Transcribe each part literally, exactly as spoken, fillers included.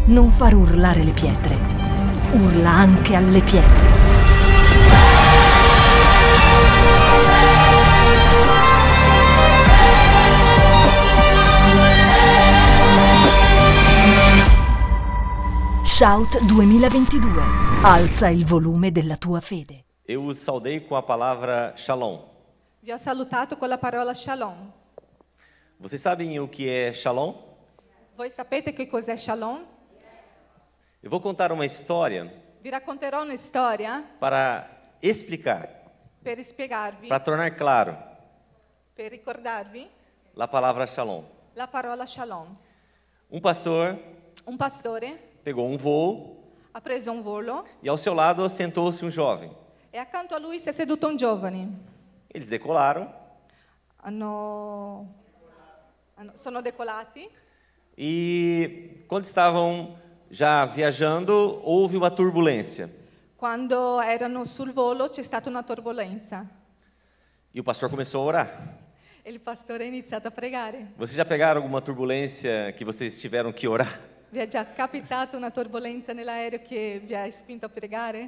Non far urlare le pietre. Urla anche alle pietre. Shout duemilaventidue. Alza il volume della tua fede. Eu os saudei com a palavra shalom. Vi ho salutato con la parola shalom. Vocês sabem o que é shalom? Voi sapete che cos'è shalom? Eu vou contar uma história Vi racconterò una storia para explicar, per spiegarvi, para tornar claro per ricordarvi a palavra shalom. la parola shalom. Um pastor Un pastore pegou um voo ha preso un volo e ao seu lado sentou-se um jovem. e accanto a lui si è seduto un giovane. Eles decolaram Hanno, hanno- sono decolati e quando estavam já viajando, houve uma turbulência. quando erano sul volo c'è stata una turbolenza E o pastor começou a orar. e il pastore ha iniziato a pregare. Vocês já pegaram alguma turbulência que vocês tiveram que orar? Vi è già capitato una turbolenza nell'aereo che vi ha spinto a pregare?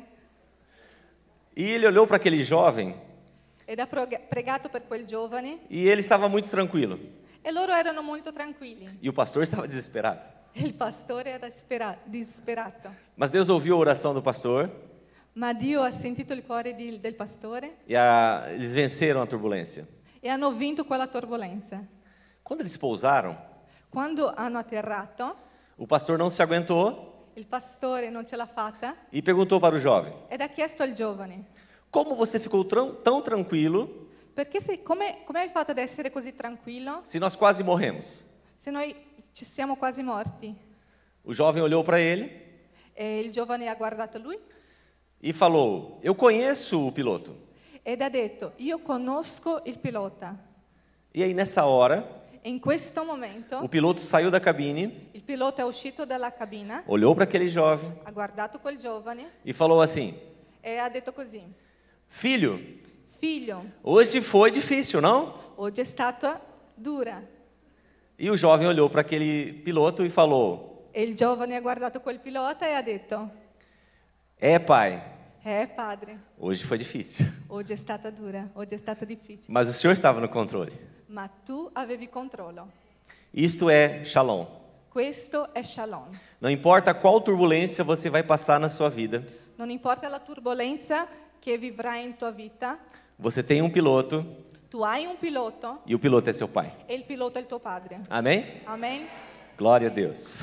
E ele olhou para aquele jovem Ed ha prog- pregato per quel giovane e ele estava muito tranquilo. e loro erano molto tranquilli. E o pastor estava desesperado. E il pastore era spera- disperato. Mas Deus ouviu a oração do pastor Ma Dio ha sentito il cuore di- del pastore e a, eles venceram a turbulência. e hanno vinto quella turbolenza. Quando eles pousaram, Quando hanno atterrato, o pastor não se aguentou il pastore non ce l'ha fatta e perguntou para o jovem: ed ha chiesto al giovane: como você ficou tran- tão tranquilo perché sei- come, come hai fatto ad essere così tranquillo se nós quase morremos? se noi ci siamo quasi morti? O jovem olhou para ele E il giovane ha guardato lui e falou: eu conheço o piloto. ed ha detto: io conosco il pilota. E aí nessa hora, E in questo momento o piloto saiu da cabine, il pilota è uscito dalla cabina, olhou para aquele jovem ha guardato quel giovane e falou assim: e ha detto così: filho, figlio, hoje foi difícil, não? oggi è stata dura. E o jovem olhou para aquele piloto e falou: E il giovane ha guardato quel pilota e ha detto: é, pai, eh padre, hoje foi difícil. oggi è stata dura, oggi è stato difficile, Mas o senhor estava no controle. ma tu avevi controllo. Isto é shalom. Questo è shalom. Não importa qual turbulência você vai passar na sua vida, Non importa la turbolenza che vivrai in tua vita, você tem um piloto tu hai un pilota e o piloto é seu pai. e il pilota è il tuo padre. Amém? Amen? Glória a Deus.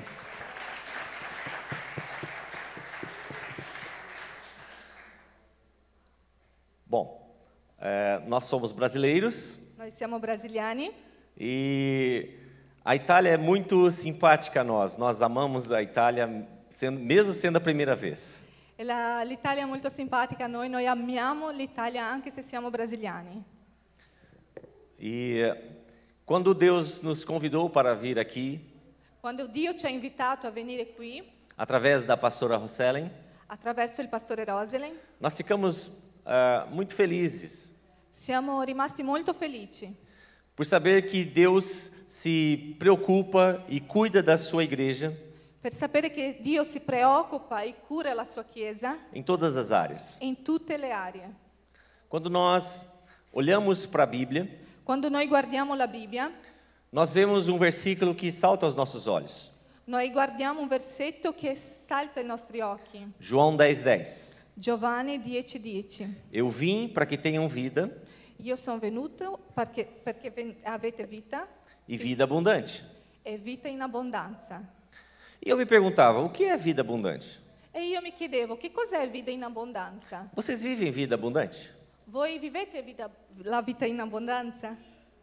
Bom, é, nós somos brasileiros Noi siamo brasiliani e a Itália é muito simpática a nós. Nós amamos a Itália, sendo, mesmo sendo a primeira vez. e la- l'Italia è molto simpatica a noi, noi amiamo l'Italia anche se siamo brasiliani. E eh, quando Deus nos convidou para vir aqui, Quando Dio ci ha invitato a venire qui, através da pastora Rosselen, attraverso il pastore Roselen, nós ficamos ah, muito felizes siamo rimasti molto felici por saber que Deus se preocupa e cuida da sua igreja per sapere che Dio si preoccupa e cura la sua Chiesa em todas as áreas. in tutte le aree. Quando nós olhamos para a Bíblia, Quando noi guardiamo la Bibbia, nós vemos um versículo que salta aos nossos olhos. noi guardiamo un versetto che salta ai nostri occhi. João dez, dez. Giovanni dieci dieci. Eu vim para que tenham vida Io sono venuto perché, perché ven- avete vita e vida abundante. e vita in abbondanza. E eu me perguntava, o que é vida abundante? E io mi chiedevo, che cos'è vita in abbondanza? Vocês vivem vida abundante? Voi vivete vita- la vita in abbondanza?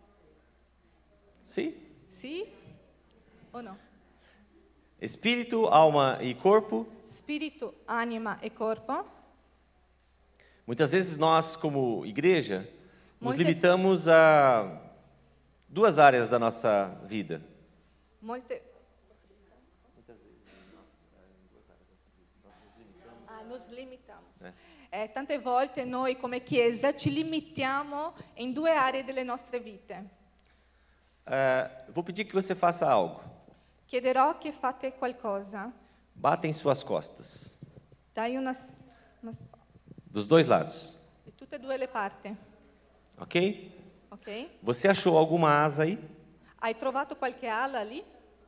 Sim. Sì o no? Espírito, alma e corpo. Spirito, anima e corpo. Muitas vezes nós, como igreja, nos Muitas- limitamos a duas áreas da nossa vida. Molte... Ah, nos limitamos. Eh, tante volte noi come Chiesa ci limitiamo in due aree delle nostre vite. Eh, vou pedir que você faça algo. chiederò che fate qualcosa. Bata em suas costas, Dai una, una dos dois lados, di tutte e due le parti, ok? ok? Você achou alguma asa aí? Hai trovato qualche ala lì?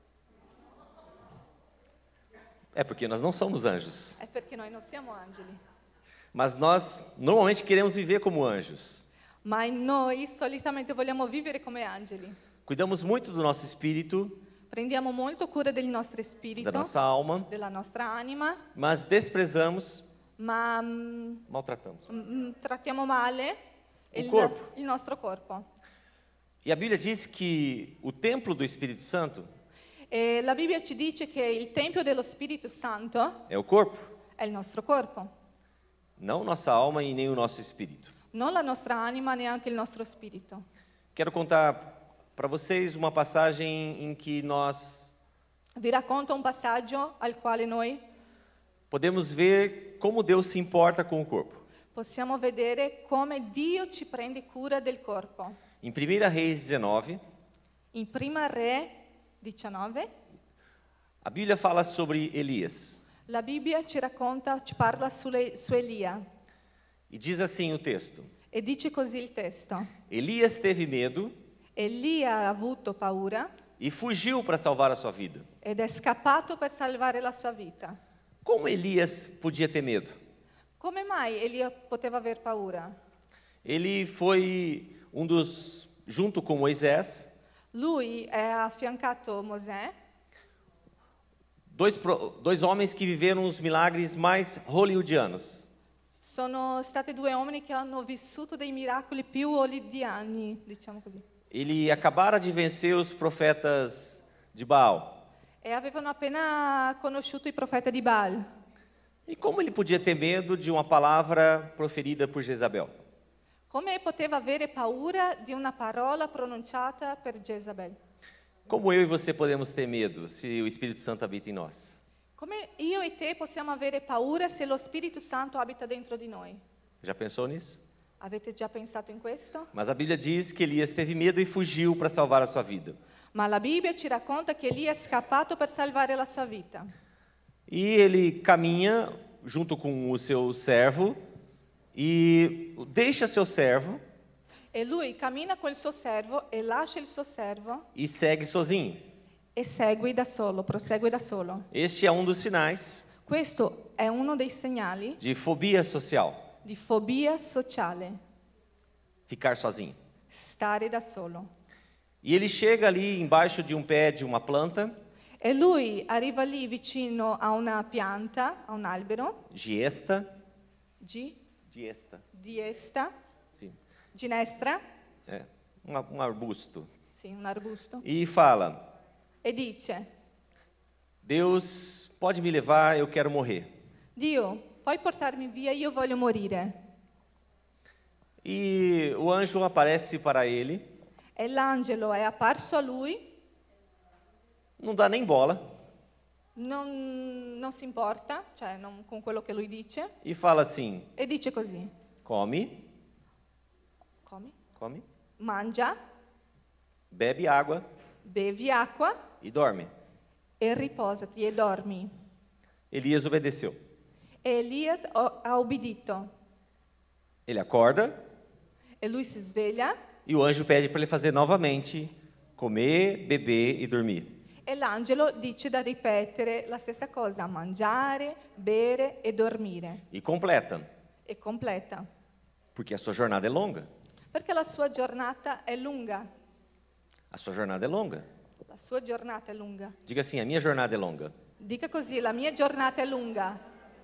É porque nós não somos anjos, È perché noi non siamo angeli, mas nós normalmente queremos viver como anjos. ma noi solitamente vogliamo vivere come angeli. Cuidamos muito do nosso espírito, Prendiamo molto cura del nostro da spirito, nossa alma, della nostra anima, mas desprezamos, ma mm, maltratamos. mm, trattiamo male Il il, corpo. il nostro corpo. E a Bíblia diz que o templo do Espírito Santo E la Bibbia ci dice che il Tempio dello Spirito Santo é o corpo, è il nostro corpo, não nossa alma e nem o nosso espírito. non la nostra anima, neanche il nostro spirito. Quero contar para vocês uma passagem em que nós Vi racconto un passaggio al quale noi podemos ver como Deus se importa com o corpo. possiamo vedere come Dio ci prende cura del corpo. Em primeira Reis dezenove, In Prima Re diciannove, a Bíblia fala sobre Elias. la Bibbia ci racconta, ci parla sulle- su Elia E diz assim o texto: e dice così il testo. Elias teve medo Elia ha avuto paura e fugiu para salvar a sua vida. ed è scappato per salvare la sua vita. Como Elias podia ter medo? Come mai Elia poteva aver paura? Ele foi um dos, junto com Moisés, Lui è affiancato Mosè, dois, pro- dois homens que viveram os milagres mais hollywoodianos. sono stati due uomini che hanno vissuto dei miracoli più hollywoodiani, diciamo così, Ele acabara de vencer os profetas de Baal. e avevano appena conosciuto i profeti di Baal. E como ele podia ter medo de uma palavra proferida por Jezabel? Come poteva avere paura di una parola pronunciata per Jezabel? Como eu e você podemos ter medo se o Espírito Santo habita em nós? Come io e te possiamo avere paura se lo Spirito Santo abita dentro di noi? Já pensou nisso? Avete già pensato in questo? Mas a Bíblia diz que Elias teve medo e fugiu para salvar a sua vida. Ma la Bibbia ci racconta che Elia è scappato per salvare la sua vita. E ele caminha junto com o seu servo e deixa seu servo E lui cammina col suo servo e lascia il suo servo e segue sozinho. e segue da solo, prosegue da solo. Este é um dos sinais Questo è uno dei segnali de fobia social, di fobia sociale, ficar sozinho. stare da solo. E ele chega ali embaixo de um pé de uma planta, E lui arriva lì vicino a una pianta, a un albero, giesta, G, giesta, diesta, sim, ginestra, é, um, um arbusto, sì, un arbusto, e fala: e dice: Deus pode me levar, eu quero morrer. Dio, puoi portarmi via, io voglio morire. E o anjo aparece para ele, E l'angelo è apparso a lui, não dá nem bola, non, non si importa, cioè non con quello che lui dice, e fala assim: e dice così: come, come? come, Mangia, bebe água bevi acqua e dorme. e riposati e dormi. Elias obedeceu. E Elias o- ha obbedito. Ele acorda E lui si sveglia e o anjo pede para ele fazer novamente comer, beber e dormir. e l'angelo dice da ripetere la stessa cosa: mangiare, bere e dormire. E completa, E completa. porque a sua jornada é longa. Perché la sua giornata è lunga. A sua jornada é longa. La sua giornata è lunga. Diga assim: a minha jornada é longa. Dica così: la mia giornata è lunga.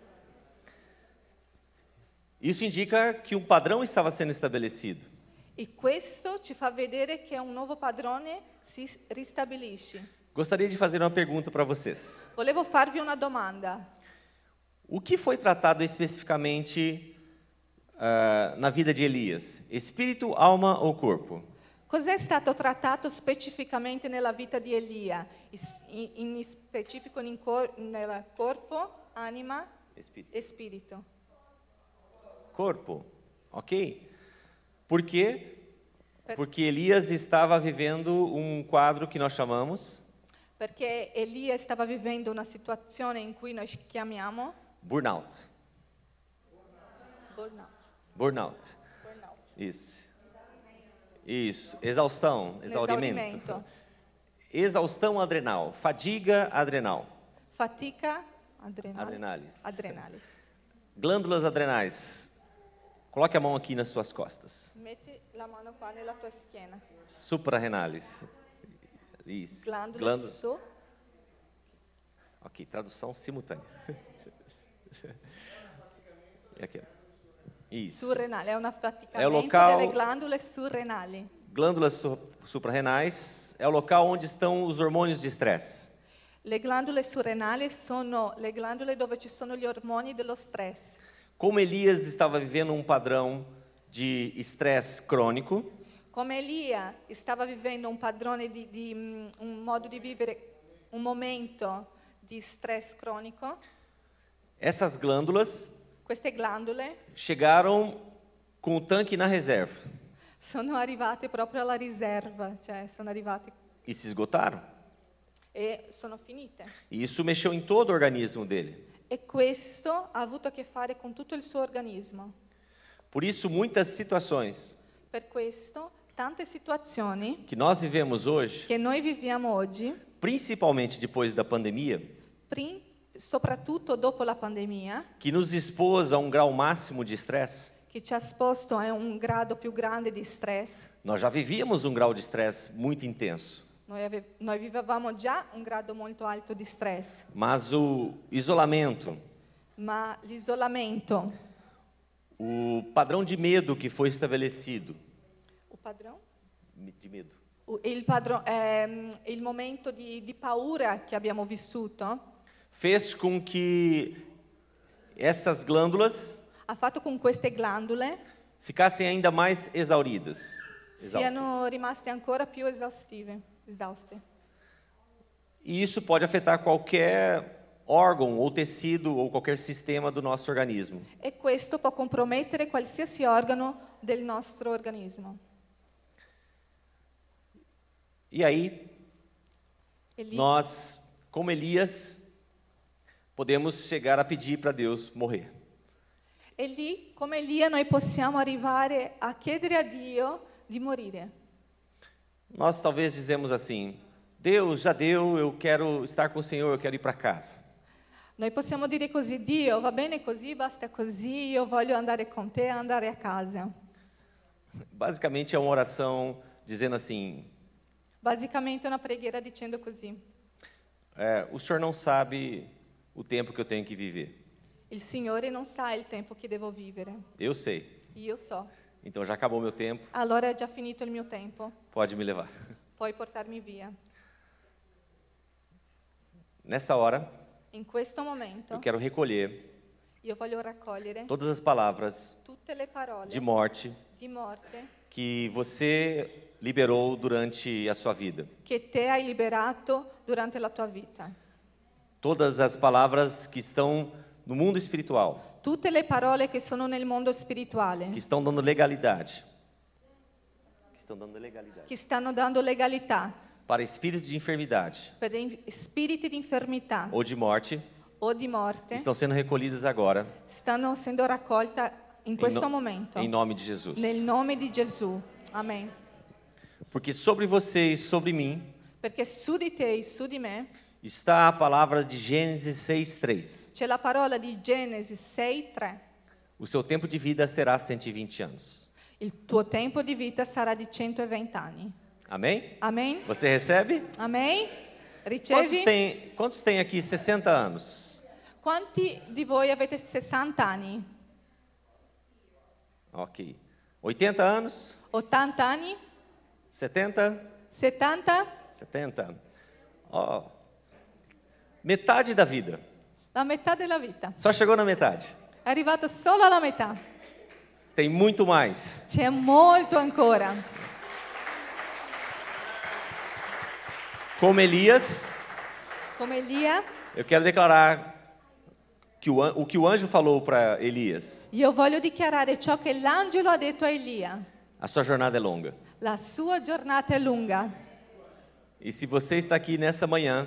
Isso indica que um padrão estava sendo estabelecido. E questo ci fa vedere che un nuovo padrone si ristabilisce. Gostaria de fazer uma pergunta para vocês. Volevo farvi una domanda. O que foi tratado especificamente ah, na vida de Elias? Espírito, alma ou corpo? Cos'è stato trattato specificamente nella vita di Elia? Is- In, in specifico in cor- nel corpo, anima Espírito. e spirito. Corpo, ok? Por quê? Per- Porque Elias estava vivendo um quadro que nós chamamos Perché Elia stava vivendo una situazione in cui noi chiamiamo burnout. burnout. Burnout. burnout. Isso. Isso. Exaustão, exaurimento. Esaurimento. Exaustão adrenal, fadiga adrenal. Fatica adrenal. Adrenalis. Adrenalis. Glândulas adrenais. Coloque a mão aqui nas suas costas. Metti la mano qua nella tua schiena. Suprarrenales. Isso. Glândula, Glândula. su. Ok, tradução simultânea. E aqui, ó. Isso. Surrenale, è un affaticamento È un local- delle glandule surrenali. Glândulas su- suprarrenais é o local onde estão os hormônios de estresse. Le glandule surrenali sono le glandule dove ci sono gli ormoni dello stress. Como Elias estava vivendo um padrão de estresse crônico, Come Elia stava vivendo un padrone di, di mm, un modo di vivere, un momento di stress cronico, essas glândulas queste glandule chegaram com o tanque na reserva sono arrivate proprio alla riserva, cioè sono arrivate e se esgotaram. e sono finite. E isso mexeu em todo o organismo dele. E questo ha avuto a che fare con tutto il suo organismo. Por isso, muitas situações Per questo, tante situazioni que nós vivemos hoje, che noi viviamo oggi, principalmente depois da pandemia, prin- soprattutto dopo la pandemia, que nos expôs a um grau máximo de estresse. che ci ha esposto a un grado più grande di stress. Nós já vivíamos um grau de estresse muito intenso, Noi, ave- noi vivevamo già un grado molto alto di stress, mas o isolamento, ma l'isolamento, o padrão de medo que foi estabelecido, o padrone? de medo, O- il, padro- ehm, il momento di, di paura che abbiamo vissuto fez com que essas glândulas ha fatto con queste glandule ficassem ainda mais exauridas. siano exaustas. rimaste ancora più esaustive, esauste. E isso pode afetar qualquer órgão ou tecido ou qualquer sistema do nosso organismo. E questo può compromettere qualsiasi organo del nostro organismo. E aí, E lì, nós, como Elias, podemos chegar a pedir para Deus morrer. e lì, come Elia, noi possiamo arrivare a chiedere a Dio di morire. Nós talvez dizemos assim: Deus, já deu, eu quero estar com o Senhor, eu quero ir para casa. Noi possiamo dire così: Dio, va bene così, basta così, io voglio andare con te, andare a casa. Basicamente é uma oração dizendo assim: Basicamente è una preghiera dicendo così: é, o Senhor não sabe o tempo que eu tenho que viver. il Signore non sa il tempo che devo vivere, Eu sei. io so. Então já acabou meu tempo, Allora è già finito il mio tempo, pode me levar. puoi portarmi via. Nessa hora, In questo momento eu quero recolher io voglio raccogliere todas as palavras tutte le parole de morte di morte que você liberou durante a sua vida. che te hai liberato durante la tua vita. Todas as palavras que estão no mundo espiritual, Tutte le parole che sono nel mondo spirituale, que estão dando legalidade. Que estão dando legalidade. che stanno dando legalità Para espírito de enfermidade per dei spiriti di infermità ou de morte, o di morte, estão sendo recolhidas agora, stanno essendo raccolta in em, questo no- momento, em nome de Jesus. nel nome di Gesù. Amen. Porque sobre você e sobre mim Perché su di te e su di me está a palavra de Gênesis seis, três. c'è la parola di Genesi sei tre. O seu tempo de vida será cento e vinte anos. Il tuo tempo di vita sarà di centoventi anni. Amém? Amen? Você recebe? Amen? Quantos Ricevi? tem, quantos tem aqui sessenta anos? Quanti di voi avete sessanta anni? Ok. oitenta anos? ottanta anni? setenta? settanta? setenta. Ó, metade da vida. La metà della vita. Só chegou na metade. È arrivato solo alla metà. Tem muito mais. C'è molto ancora. Como Elias, Come Elia, eu quero declarar que o, an- o que o anjo falou para Elias. io voglio dichiarare ciò che l'angelo ha detto a Elia. A sua jornada é longa. La sua giornata è lunga. E se você está aqui nessa manhã,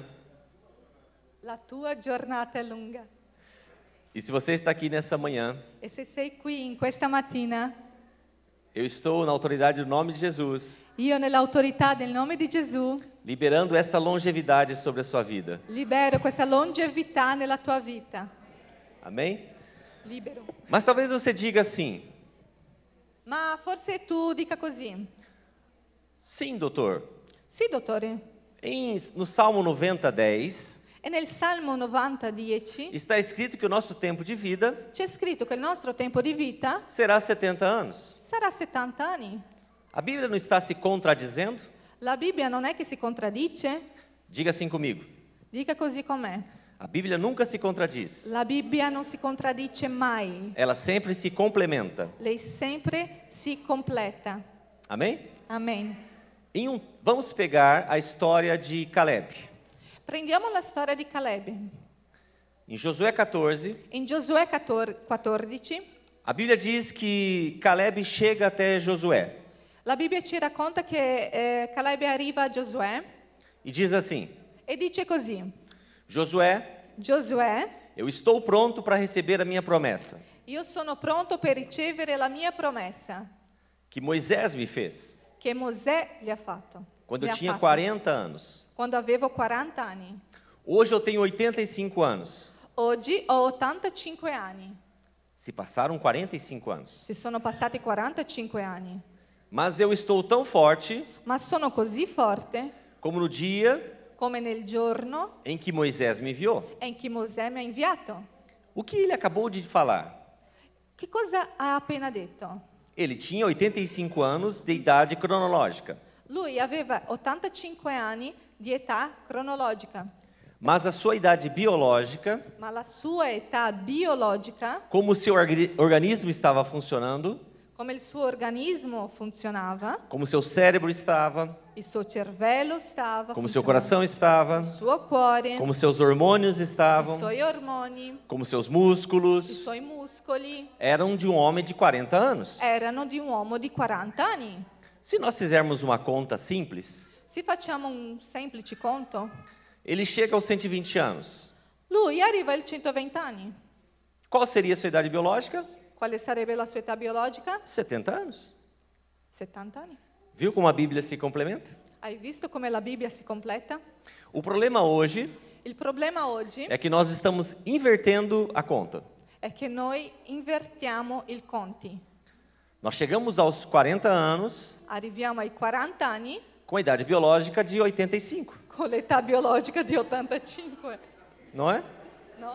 la tua giornata è lunga. e se você está aqui nessa manhã, E se sei qui in questa mattina, eu estou na autoridade do nome de Jesus, io nell'autorità del nome di Gesù liberando essa longevidade sobre a sua vida. libero questa longevità nella tua vita. Amém? Libero. Mas talvez você diga assim: Ma forse tu dica così. sim, doutor. Sì, dottore. Em, no Salmo noventa, dez, E nel Salmo novanta, dieci está escrito que o nosso tempo de vida c'è scritto che il nostro tempo di vita será setenta anos. sarà settanta anni. A Bíblia não está se contradizendo? La Bibbia non è che si contraddice? Diga assim comigo. Dica così com'è. A Bíblia nunca se contradiz. La Bibbia non si contraddice mai. Ela sempre se complementa. Lei sempre si completa. Amém? Amen. Em um, vamos pegar a história de Caleb. Prendiamo la storia di Caleb. Em Josué quatorze, In Giosuè quattordici, a Bíblia diz que Caleb chega até Josué la Bibbia ci racconta che eh, Caleb arriva a Giosuè e diz assim: e dice così: Josué, Giosuè, eu estou pronto para receber a minha promessa io sono pronto per ricevere la mia promessa que Moisés me fez che Mosè gli ha fatto. quando Gli eu ha tinha fatto, quarenta anos. quando avevo quaranta anni. Hoje eu tenho oitenta e cinco anos. Oggi ho ottantacinque anni. Se passaram quarenta e cinco anos. Si sono passati quarantacinque anni. Mas eu estou tão forte Ma sono così forte como no dia come nel giorno em que Moisés me enviou. in cui Mosè mi ha inviato. O que ele acabou de falar? Che cosa ha appena detto? Ele tinha oitenta e cinco anos de idade cronológica, Lui aveva ottantacinque anni di età cronologica, mas a sua idade biológica, ma la sua età biologica, como o seu orga- organismo estava funcionando, come il suo organismo funzionava, como o seu cérebro estava, il suo cervello stava como o seu funzionando, coração estava, il suo cuore, como seus hormônios i estavam, suoi ormoni, como seus i músculos, suoi muscoli eram de um homem de quarenta anos. erano di un uomo di quaranta anni. Se nós fizermos uma conta simples, Se facciamo un semplice conto, ele chega aos cento e vinte anos. lui arriva ai centoventi anni. Qual seria a sua idade biológica? Quale sarebbe la sua età biologica? setenta anos. settanta anni. Viu como a Bíblia se complementa? Hai visto come la Bibbia si completa? O problema hoje Il problema oggi é que nós estamos invertendo a conta. è che noi invertiamo i conti. Nós chegamos aos quarenta anos Arriviamo ai quaranta anni com a idade biológica de oitenta e cinco, con l'età biologica di ottantacinque, não é? no?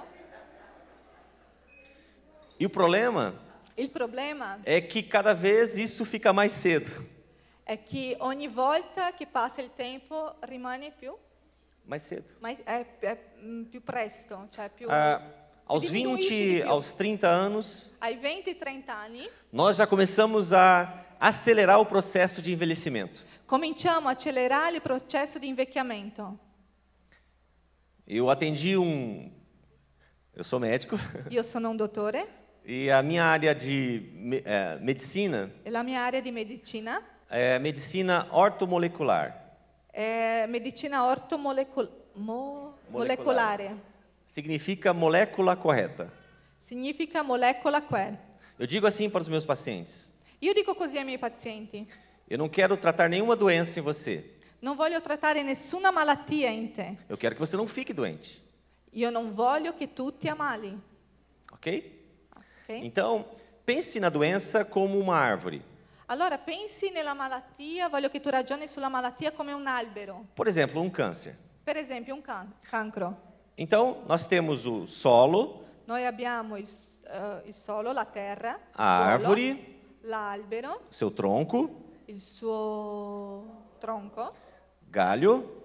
E o problema Il problema é que cada vez isso fica mais cedo. è che ogni volta che passa il tempo rimane più, Mais cedo. ma è, è, mm, più presto, cioè più... Ah, si aos diminuisce di vinte, più. aos trinta anos, Ai venti trenta anni nós já começamos a acelerar o processo de envelhecimento. cominciamo a accelerare il processo di invecchiamento. Eu atendi um... Eu sou médico Io sono un dottore e a minha área de me- eh, medicina e la mia area di medicina é medicina ortomolecular. è medicina ortomolecolare. Molecolare. Molecolare. Significa molécula correta. Significa molecola quel. Eu digo assim para os meus pacientes: Io dico così ai miei pazienti: eu não quero tratar nenhuma doença em você. non voglio trattare nessuna malattia in te. Eu quero que você não fique doente, Io non voglio che tu ti ammali. ok? Ok? Então, pense na doença como uma árvore. Allora pensi nella malattia, voglio che tu ragioni sulla malattia come un albero. Por exemplo, um câncer. Per esempio un can- cancro. Então, nós temos o solo, Noi abbiamo il, s- eh, il solo, la terra, il a suolo, árvore, l'albero, seu tronco, il suo tronco, galho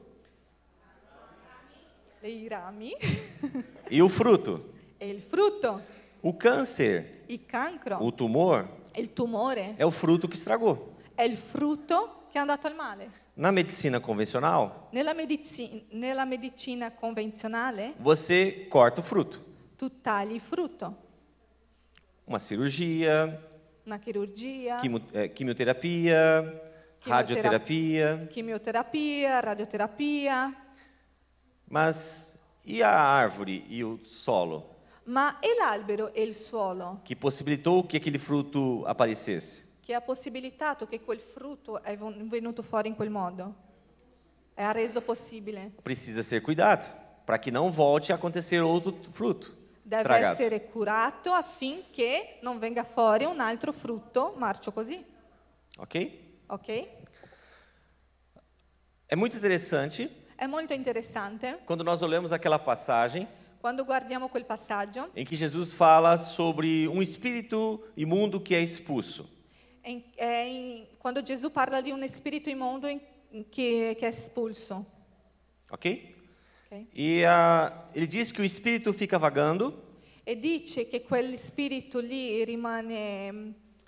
i rami e o fruto. e il frutto. O câncer, Il cancro, o tumor, il tumore, é o fruto que estragou. è il frutto che è andato al male. Na medicina convencional, Nella, medici- nella medicina convenzionale você corta o fruto. tu tagli il frutto. Uma cirurgia, Una chirurgia, quimo- eh, quimioterapia, radioterapia. Quimioterapia, radioterapia. Mas e a árvore e o solo, Ma e l'albero e il suolo, que possibilitou que aquele fruto aparecesse? che ha possibilitato che quel frutto è ven- venuto fuori in quel modo? E ha reso possibile. Precisa ser cuidado, para que não volte a acontecer outro fruto Deve estragado. essere curato affinché non venga fuori un altro frutto marcio così. Ok? Ok? É muito interessante È molto interessante quando nós olhamos aquela passagem quando guardiamo quel passaggio em que Jesus fala sobre um espírito imundo que é expulso. in- è in- quando Gesù parla di un spirito immondo in- che, che è espulso. Ok? Ok? E ah, ele diz que o espírito fica vagando E dice che quel spirito lì rimane mm,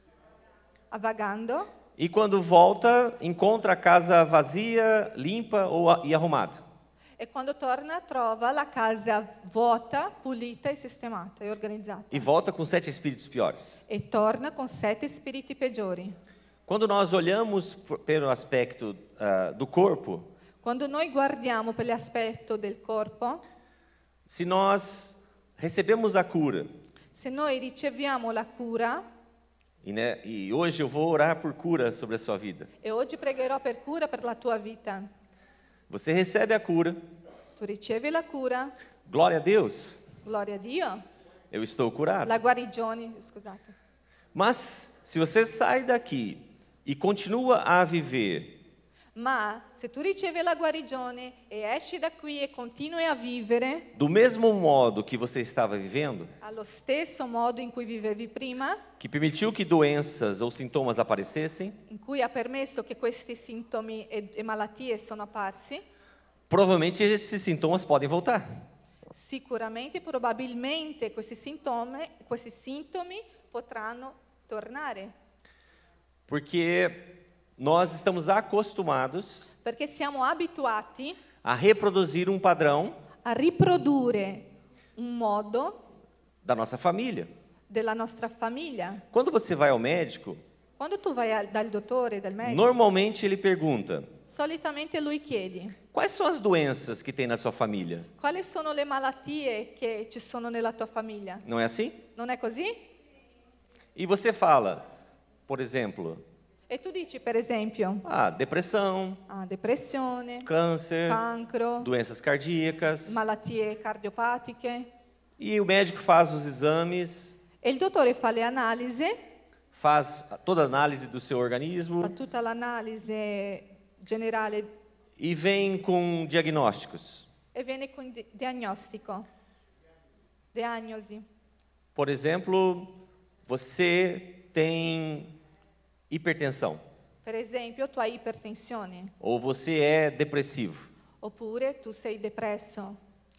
vagando e quando volta encontra a casa vazia, limpa ou a- e arrumada. e quando torna trova la casa vuota, pulita e sistemata e organizzata. E volta com sete espíritos piores. E torna con sette spiriti peggiori. Quando nós olhamos por- pelo aspecto ah, do corpo, Quando noi guardiamo per l'aspetto del corpo, se nós recebemos a cura, se noi riceviamo la cura, e, né, e hoje eu vou orar por cura sobre a sua vida. e oggi pregherò per cura per la tua vita, Você recebe a cura, tu ricevi la cura, glória a Deus, gloria a Dio, eu estou curado. la guarigione, scusate. Mas se você sai daqui e continua a viver Ma se tu ricevi la guarigione e esci da qui e continui a vivere do mesmo modo que você estava vivendo, allo stesso modo in cui vivevi prima, que permitiu que doenças ou sintomas aparecessem, in cui ha permesso che questi sintomi e, e malattie sono apparsi, provavelmente esses sintomas podem voltar. sicuramente, probabilmente questi sintomi, questi sintomi potranno tornare, Porque nós estamos acostumados perché siamo abituati a reproduzir um padrão a riprodurre un modo da nossa família. della nostra famiglia. Quando você vai ao médico, Quando tu vai al- dal dottore, dal medico, normalmente ele pergunta: solitamente lui chiede quais são as doenças que tem na sua família? quali sono le malattie che ci sono nella tua famiglia. Não é assim? Non è così? E você fala, por exemplo, E tu dici, per esempio, ah, depressão, ah, depressione, câncer, cancro, doenças cardíacas. malattie cardiopatiche. E o médico faz os exames, E il dottore fa le analisi, faz toda a análise do seu fa organismo tutta l'analisi generale e vem com diagnósticos. e viene con di- diagnostico. Diagnosi. Por exemplo, você tem hipertensão Per esempio, tu hai ipertensione, ou você é depressivo. oppure tu sei depresso,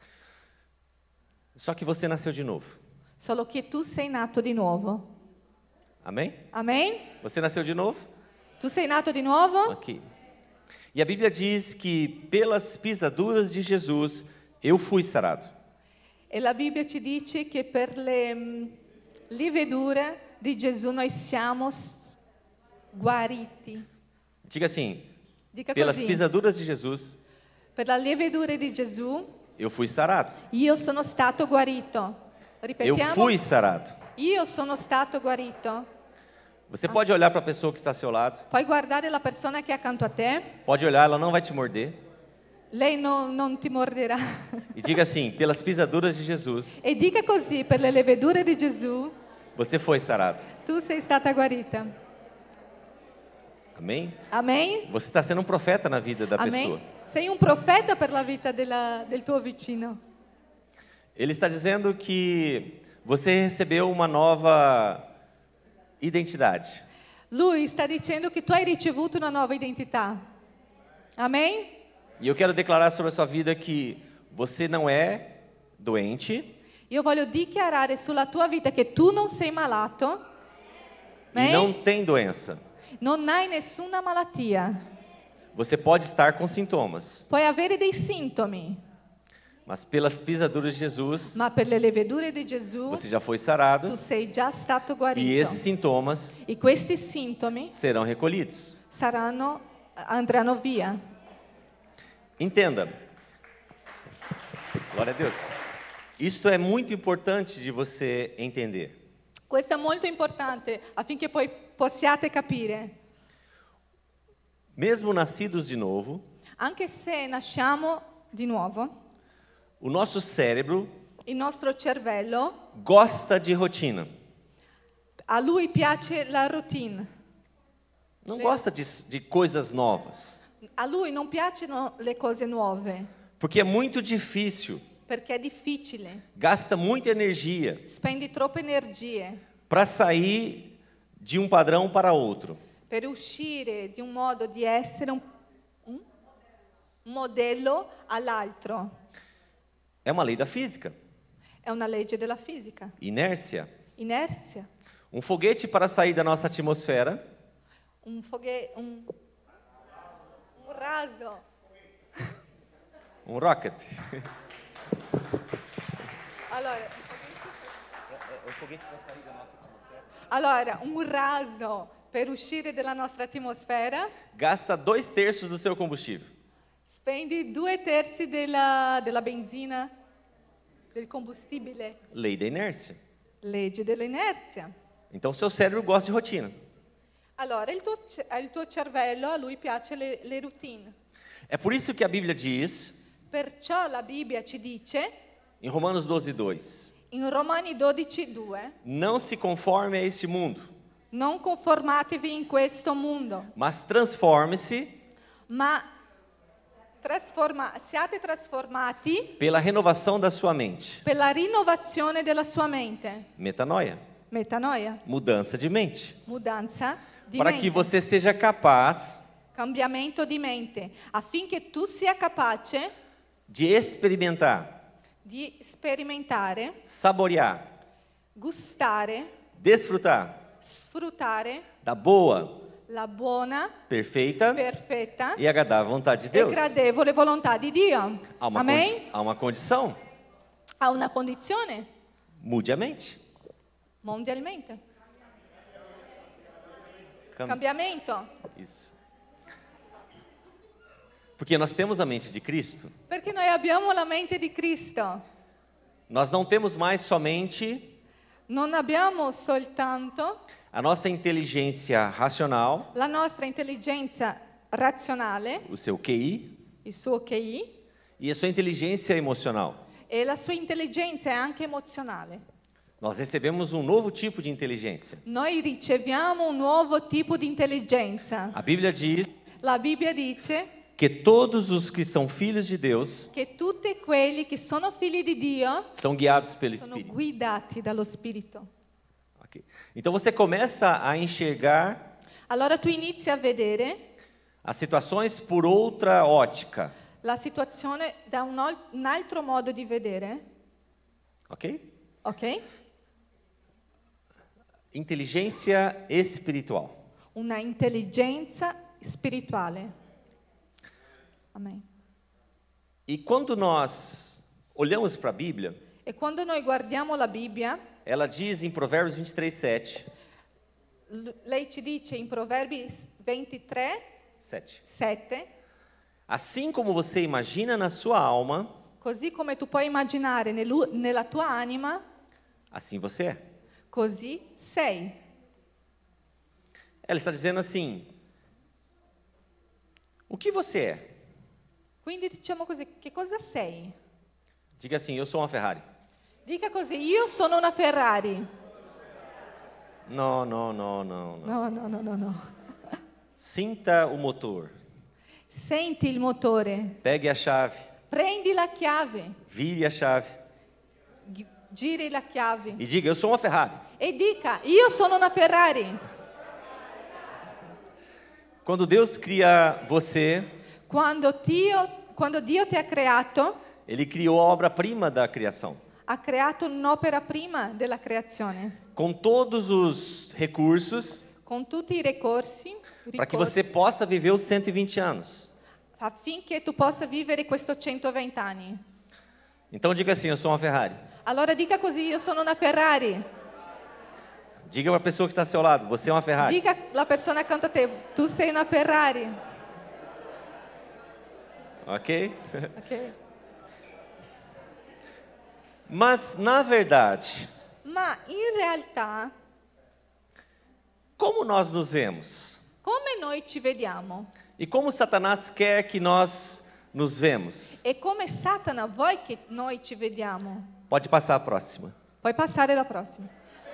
Só que você nasceu de novo. solo che tu sei nato di nuovo. Amém? Amen? Você nasceu de novo? Tu sei nato di nuovo? Aqui. E a Bíblia diz que pelas pisaduras de Jesus eu fui sarado. E la Bibbia ci dice che per le mm, livedure di Gesù noi siamo s- guariti. Diga assim: Dica pelas così. pisaduras de Jesus Per la livedure di Gesù eu fui sarado. io sono stato guarito. Eu Ripetiamo. fui sarado. Io sono stato guarito. Você pode olhar para a pessoa que está ao seu lado, Puoi guardare la persona che è accanto a te, pode olhar, ela não vai te morder. lei non, non ti morderà. E diga assim: pelas pisaduras de Jesus E dica così, per le levedure di Gesù, você foi sarado. tu sei stata guarita. Amém? Amen? Você está sendo um profeta na vida da Amen? pessoa. Sei un profeta per la vita della- del tuo vicino. Ele está dizendo que você recebeu uma nova identidade. Lui sta dicendo che tu hai ricevuto una nuova identità. Amen? E eu quero declarar sobre a sua vida que você não é doente, Io voglio dichiarare sulla tua vita che tu non sei malato, e não tem doença. non hai nessuna malattia. Você pode estar com sintomas, Puoi avere dei sintomi, mas pelas pisaduras de Jesus ma per le levedure di Gesù você já foi tu sarado sei già stato e guarito. esses sintomas E questi sintomi serão recolhidos. saranno, andranno via. Entenda. Glória a Deus. Isto é muito importante de você entender. Questo è molto importante affinché poi possiate capire. Mesmo nascidos de novo, Anche se nasciamo di nuovo, o nosso cérebro il nostro cervello, gosta de rotina. a lui piace la routine. Não gosta de, de coisas novas. A lui non piacciono le cose nuove, Porque é muito difícil, perché è difficile. gasta muita energia Spendi troppe energie para sair de um padrão para outro. per uscire di un modo di essere un, un modello all'altro. É uma lei da física. È una legge della fisica. Inércia. Inerzia. Um foguete para sair da nossa atmosfera Un foghe, un, un raso. um rocket. Allora, O foguete para sair da nossa atmosfera allora, un raso per uscire dalla nostra atmosfera gasta dois terços do seu combustível. spendi due terzi della, della benzina, del combustibile, Lei da inércia. legge dell'inerzia. Então, seu cérebro gosta de rotina. Allora, il tuo, ce- il tuo cervello, a lui piace le, le routine. É por isso que a Bíblia diz, Perciò la Bibbia ci dice, em Romanos doze, dois, in Romani dodici due, não se conforme a este mundo, non conformatevi in questo mondo, mas transforme-se ma trasforma- siate trasformati pela renovação da sua mente. per la rinnovazione della sua mente. Metanoia, Metanoia, mudança de mente. mudanza di Para mente. que você seja capaz Cambiamento di mente, affinché tu sia capace de experimentar, di sperimentare, saborear, gustare, desfrutar sfruttare da boa, la buona, perfeita perfetta e agradável vontade de e Deus. gradevole volontà di Dio. Há uma, Amen? condi- há uma condição, Ha una condizione mude a mente. mondialmente. Cam- Cambiamento. Isso. Porque nós temos a mente de Cristo, Perché noi abbiamo la mente di Cristo. nós não temos mais somente Non abbiamo soltanto a nossa inteligência racional, la nostra intelligenza razionale, o seu Q I, il suo Q I, e a sua inteligência emocional. e la sua intelligenza è anche emozionale. Nós recebemos um novo tipo de inteligência. Noi riceviamo un nuovo tipo di intelligenza. A Bíblia diz La Bibbia dice que todos os que são filhos de Deus che tutti quelli che sono figli di Dio são guiados pelo sono Espírito. guidati dallo Spirito. Ok. Então você começa a enxergar Allora tu inizi a vedere as situações por outra ótica, la situazione da un, ol- un altro modo di vedere, ok? ok? Inteligência espiritual. Una intelligenza spirituale. Amen. E quando nós olhamos para a Bíblia, E quando noi guardiamo la Bibbia, ela diz em Provérbios vinte e três, sete, l- lei ci dice in Proverbi ventitré, sete. sette, Assim como você imagina na sua alma, così come tu puoi immaginare nell'u- nella tua anima, assim você é. così sei. Ela está dizendo assim: o que você é? Quindi diciamo così, che cosa sei? Diga assim: eu sou uma Ferrari. Dica così, io sono una Ferrari. Não, não, não, não, não. No, no, no, no, no. Sinta o motor. Senti il motore, Pegue a chave. prendi la chiave, Vire a chave. gi- giri la chiave E diga: eu sou uma Ferrari. e dica, io sono una Ferrari. Quando Deus cria você, Quando Dio, quando Dio ti ha creato, Ele criou a obra-prima da criação. ha creato un'opera prima della creazione, Com todos os recursos con tutti i ricorsi, para que ricorsi, você possa viver os cento e vinte anos. affinché tu possa vivere questo centoventi anni. Então diga assim: eu sou uma Ferrari. Allora dica così, io sono una Ferrari. Diga para a pessoa que está ao seu lado, você é uma Ferrari. Dica alla persona accanto a te, tu sei una Ferrari. Ok? Ok? Mas, na verdade, Ma in realtà, como nós nos vemos? come noi ci vediamo E como Satanás quer que nós nos vemos? e come Satana vuoi che noi ci vediamo. Pode passar a próxima. Puoi passare la prossima.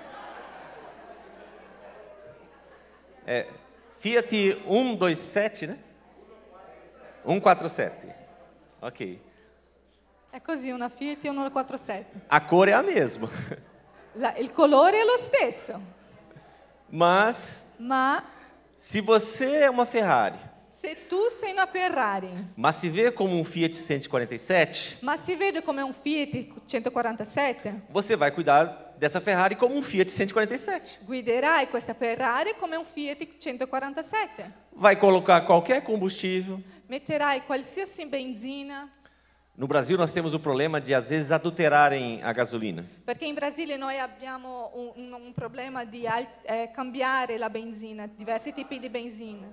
É, Fiat um dois sete, né? um quatro sete. Ok. È così, una Fiat e uno quattro sette. A cor é a mesma. La- il colore è lo stesso, Mas, ma se você é uma Ferrari, se tu sei una Ferrari, mas se vê como um Fiat cento e quarenta e sete, ma si vede come un Fiat centoquarantasette, você vai cuidar dessa Ferrari como um Fiat cento e quarenta e sete. guiderai questa Ferrari come un Fiat centoquarantasette. Vai colocar qualquer combustível. Metterai qualsiasi benzina, No Brasil, nós temos o problema de, às vezes, adulterarem a gasolina. perché in Brasile noi abbiamo un, un- un problema di al- eh, cambiare la benzina, diversi tipi di benzina.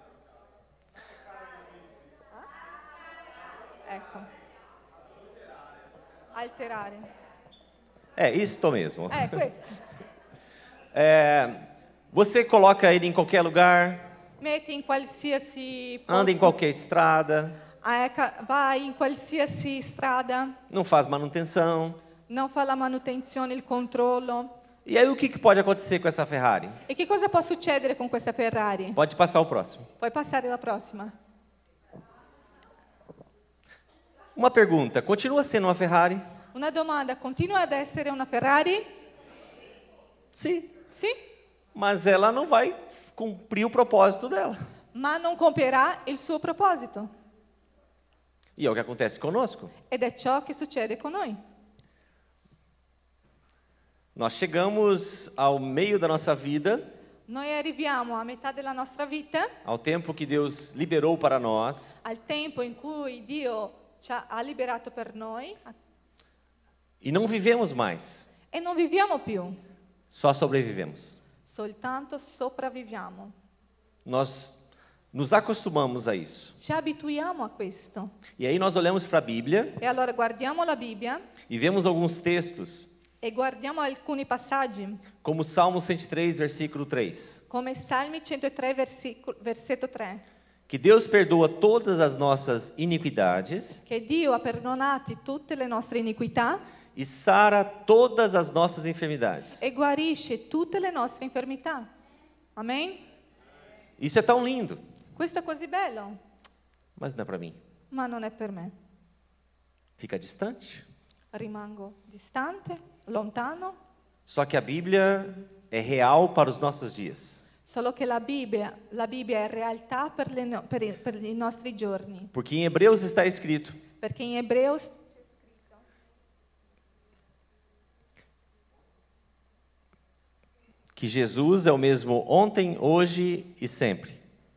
Ah? Ecco. Alterare. É, isso mesmo. Eh, questo. É, você coloca ele em qualquer lugar, Metti in qualsiasi anda em posto, qualquer estrada, eh, ca- vai in qualsiasi strada, não faz manutenção. non fa la manutenzione, il controllo. E aí o que, que pode acontecer com essa Ferrari? E che cosa può succedere con questa Ferrari? Pode passar o próximo. Puoi passare alla prossima. Uma pergunta, continua sendo uma Ferrari? Una domanda, continua ad essere una Ferrari? Sim, Sì, mas ela não vai cumprir o propósito dela. ma non compierà il suo proposito. E é o que acontece conosco. Ed è ciò che succede con noi. Nós chegamos ao meio da nossa vida, Noi arriviamo a metà della nostra vita, ao tempo que Deus liberou para nós, al tempo in cui Dio ci ha, ha liberato per noi, e não vivemos mais, e non viviamo più, só sobrevivemos. soltanto sopravviviamo. Nós nos acostumamos a isso. Ci abituiamo a questo. E aí nós olhamos para a Bíblia E allora guardiamo la Bibbia e vemos alguns textos, e guardiamo alcuni passaggi, como Salmo cento e três, versículo três, come Salmi centotré, versico- versetto tre, que Deus perdoa todas as nossas iniquidades che Dio ha perdonati tutte le nostre iniquità e sara todas as nossas enfermidades. e guarisce tutte le nostre infermità. Amen? Isso é tão lindo, Questo è così bello, mas não é para mim. ma non è per me. Fica distante. Rimango distante, lontano, Só que a Bíblia é real para os nossos dias. solo che la Bibbia, la Bibbia è realtà per, le no- per i- per i nostri giorni, Porque em Hebreus está escrito perché in Ebreo que Jesus é o mesmo ontem, hoje e sempre.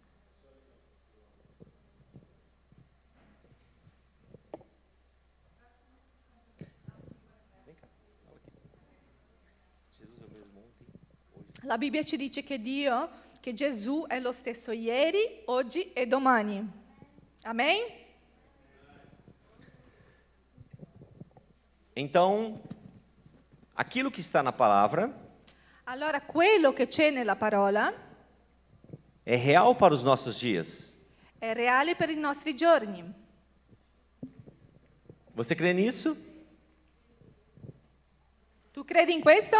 La Bibbia ci dice che Dio, che Gesù è lo stesso ieri, oggi e domani. Amen? Então, aquilo que está na palavra Allora, quello che c'è nella parola é real para os nossos dias. è reale per i nostri giorni. Você crê nisso? Tu credi in questo?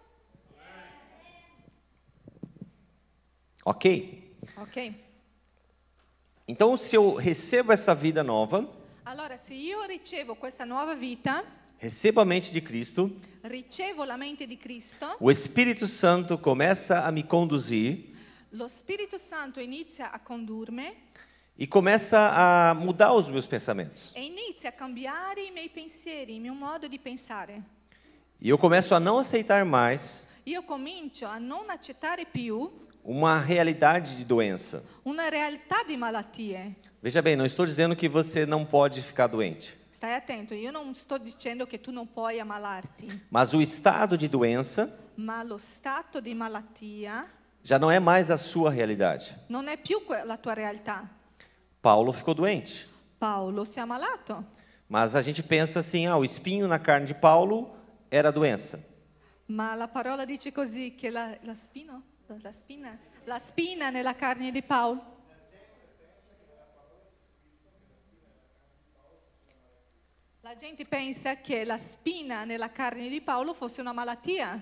Ok. Ok. Então, se eu recebo essa vida nova, Allora, se io ricevo questa nuova vita, recebo a mente de Cristo, ricevo la mente di Cristo, o Espírito Santo começa a me conduzir lo Spirito Santo inizia a condurmi e começa a mudar os meus pensamentos. e inizia a cambiare i miei pensieri, il mio modo di pensare. E eu começo a não aceitar mais Io comincio a non accettare più uma realidade de doença. una realtà di malattie. Veja bem, não estou dizendo que você não pode ficar doente. Sta stai attento, io non sto dicendo che tu non puoi ammalarti, Mas o estado de doença ma lo stato di malattia já não é mais a sua realidade. non è più que- la tua realtà. Paulo ficou doente, Paolo si è ammalato, mas a gente pensa assim, ah, o espinho na carne de Paulo era a doença. ma la parola dice così che la, la spino? La spina? La spina nella carne di Paolo. La gente pensa che la spina nella carne di Paolo fosse una malattia,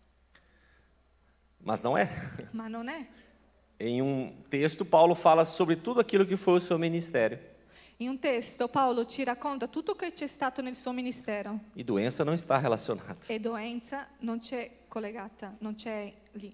Mas não é. ma non è. Em um texto, Paulo fala sobre tudo aquilo que foi o seu ministério. In un testo Paolo ci racconta tutto che c'è stato nel suo ministero E doença não está relacionada. e doenza non c'è collegata, non c'è lì.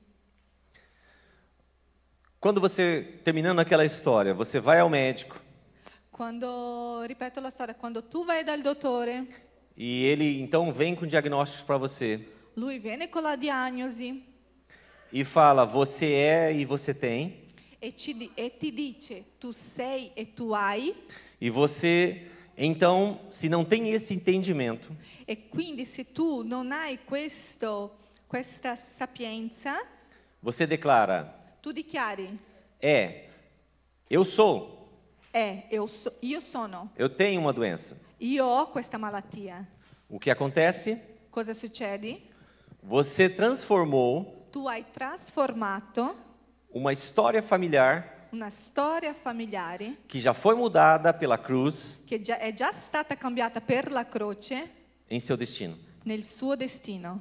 Quando você, terminando aquela história, você vai ao médico Quando, ripeto la storia, quando tu vai dal dottore, e ele então vem com diagnósticos para você lui viene con la diagnosi e fala, você é e você tem, e, ci di- e ti dice tu sei e tu hai, e você, então, se não tem esse entendimento, e quindi se tu non hai questo, questa sapienza, você declara, tu dichiari, é, eu sou, eh, io, so- io sono, eu tenho uma doença. io ho questa malattia. O que acontece? Cosa succede? Você transformou Tu hai trasformato uma história familiar una storia familiare que já foi mudada pela cruz che già- è già stata cambiata per la croce em seu destino. nel suo destino,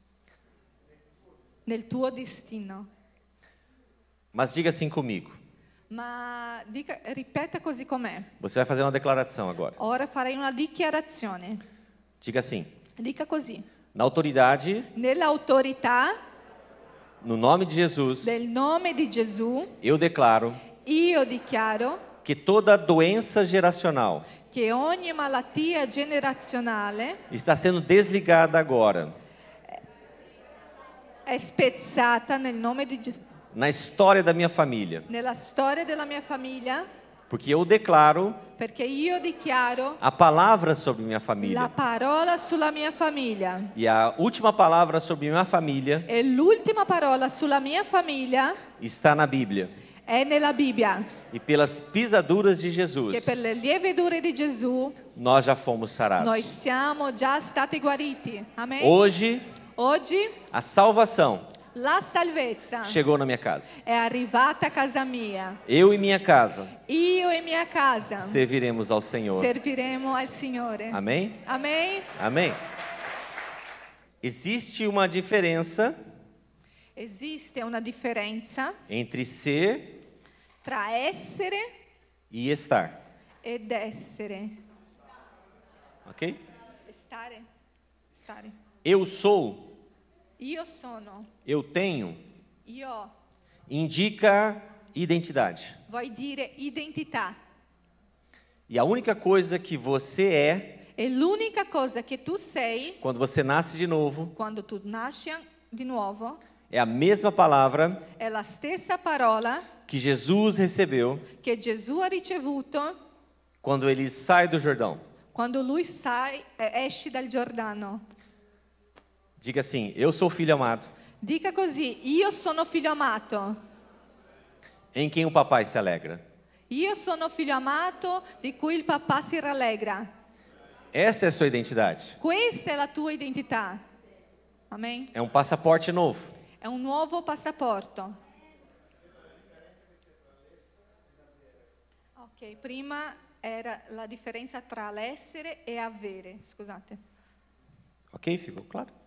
nel tuo destino. Mas diga assim comigo. Ma dica, ripeta così com'è. Você vai fazer uma declaração agora. Ora farei una dichiarazione. Diga assim: Dica così. na autoridade, Nell'autorità no nome de Jesus, del nome di Gesù, eu declaro io dichiaro que toda doença geracional che ogni malattia generazionale está sendo desligada agora è spezzata nel nome di Gesù. na história da minha família, Nella storia della mia famiglia, porque eu declaro perché io dichiaro a palavra sobre minha la família. parola sulla mia famiglia. E a última palavra sobre minha família E l'ultima parola sulla mia famiglia está na Bíblia. è nella Bibbia, E pelas pisaduras de che Jesus, per le lievedure di Gesù nós já fomos noi sarados. siamo già stati guariti. Amen. Hoje, Oggi a salvação la salvezza chegou na minha casa. è arrivata a casa mia. Eu e minha casa Io e mia casa serviremos ao Senhor. serviremo al Signore. Amém? Amen. Amém. Existe uma diferença Esiste una differenza entre ser tra essere e estar. ed essere. Ok? Stare. Stare. Eu sou, Io sono. eu tenho, Io ho. indica identidade. Vuoi dire identità. E a única coisa que você é, E l'unica cosa che tu sei quando você nasce de novo, quando tu nasci di nuovo é a mesma palavra è la stessa parola que Jesus recebeu che Gesù ha ricevuto quando ele sai do Jordão. quando lui sai, eh, esci dal Giordano. Diga assim: eu sou filho amado, Dica così, io sono figlio amato. em quem o papai se alegra. Io sono figlio amato di cui il papà si rallegra. Essa é a sua identidade. Questa è la tua identità. Amen. É um passaporte novo. È un nuovo passaporto. Ok, prima era la differenza tra l'essere e avere. Scusate. Ok? Ficou claro?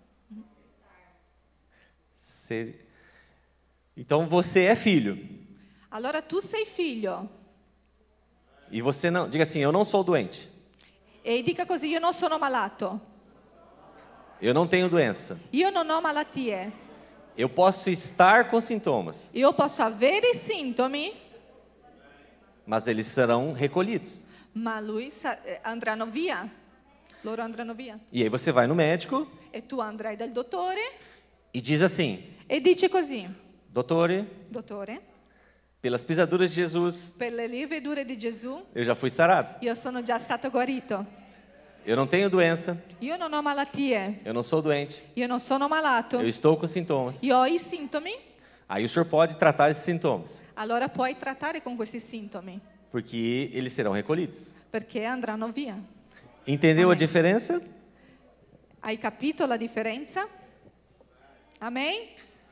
Ser... Então você é filho. Allora tu sei figlio. E você não. Diga assim: eu não sou doente. E dica così, io non sono malato. Eu não tenho doença. Io non ho malattie. Eu posso estar com sintomas, Io posso avere sintomi, mas eles serão recolhidos. ma lui sa- eh, andranno via. Loro andranno via. E aí você vai no médico E tu andrai dal dottore e diz assim: e dice così: dottore, dottore, pelas pisaduras de Jesus, per le lievedure di Gesù eu já fui sarado. io sono già stato guarito. Eu não tenho doença, io non ho malattie, eu não sou doente, io non sono malato, eu estou com sintomas. io ho i sintomi, Aí o senhor pode tratar esses sintomas, allora puoi trattare con questi sintomi, porque eles serão recolhidos. perché andranno via. Entendeu a Amém. diferença? Hai capito la differenza? Amen?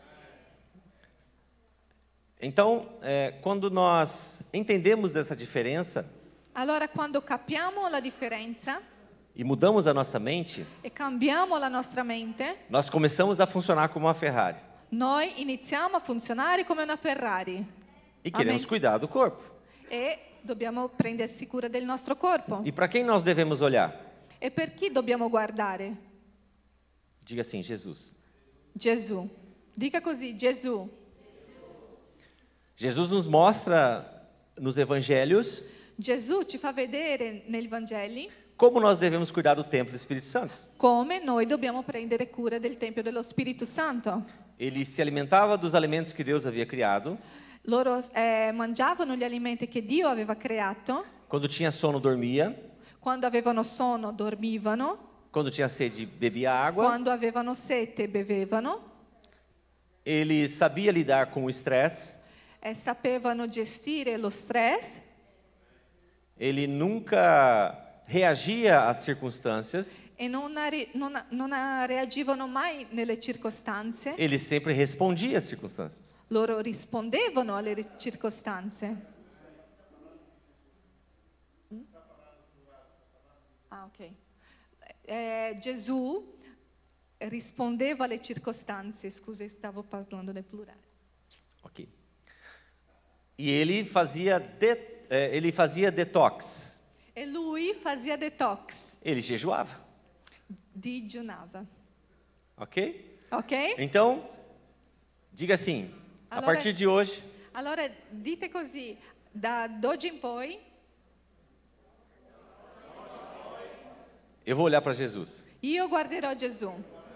Então, é, quando nós entendemos essa diferença Allora quando capiamo la differenza e mudamos a nossa mente, e cambiamo la nostra mente, nós começamos a funcionar como uma Ferrari noi iniziamo a funzionare come una Ferrari e queremos Amém. cuidar do corpo. e dobbiamo prendersi cura del nostro corpo. E para quem nós devemos olhar? E per chi dobbiamo guardare? Diga assim, Jesus. Gesù. Dica così, Gesù. Jesus nos mostra nos evangelhos Gesù ci fa vedere nei Vangeli como nós devemos cuidar do templo do Espírito Santo. come noi dobbiamo prendere cura del Tempio dello Spirito Santo. Ele se alimentava dos alimentos que Deus havia criado. Loro eh, mangiavano gli alimenti che Dio aveva creato, Quando tinha sono, dormia. quando avevano sonno dormivano, Quando tinha sede, bebia água. quando avevano sete bevevano Ele sabia lidar com o estresse. e sapevano gestire lo stress, Ele nunca reagia às circunstâncias. e non, ari- non- non reagivano mai nelle circostanze, Ele sempre respondia às circunstâncias. loro rispondevano alle ri- circostanze. Mm? Ah, ok. Eh, Gesù rispondeva alle circostanze, scusa, stavo parlando del plurale. Ok. E ele fazia, de, eh, ele fazia detox. E lui fazia detox, Ele jejuava. digiunava. Ok? Ok? Então, diga assim, a Allora- partir de hoje, Allora dite così, da d'oggi in poi eu vou olhar para Jesus. io guarderò Gesù.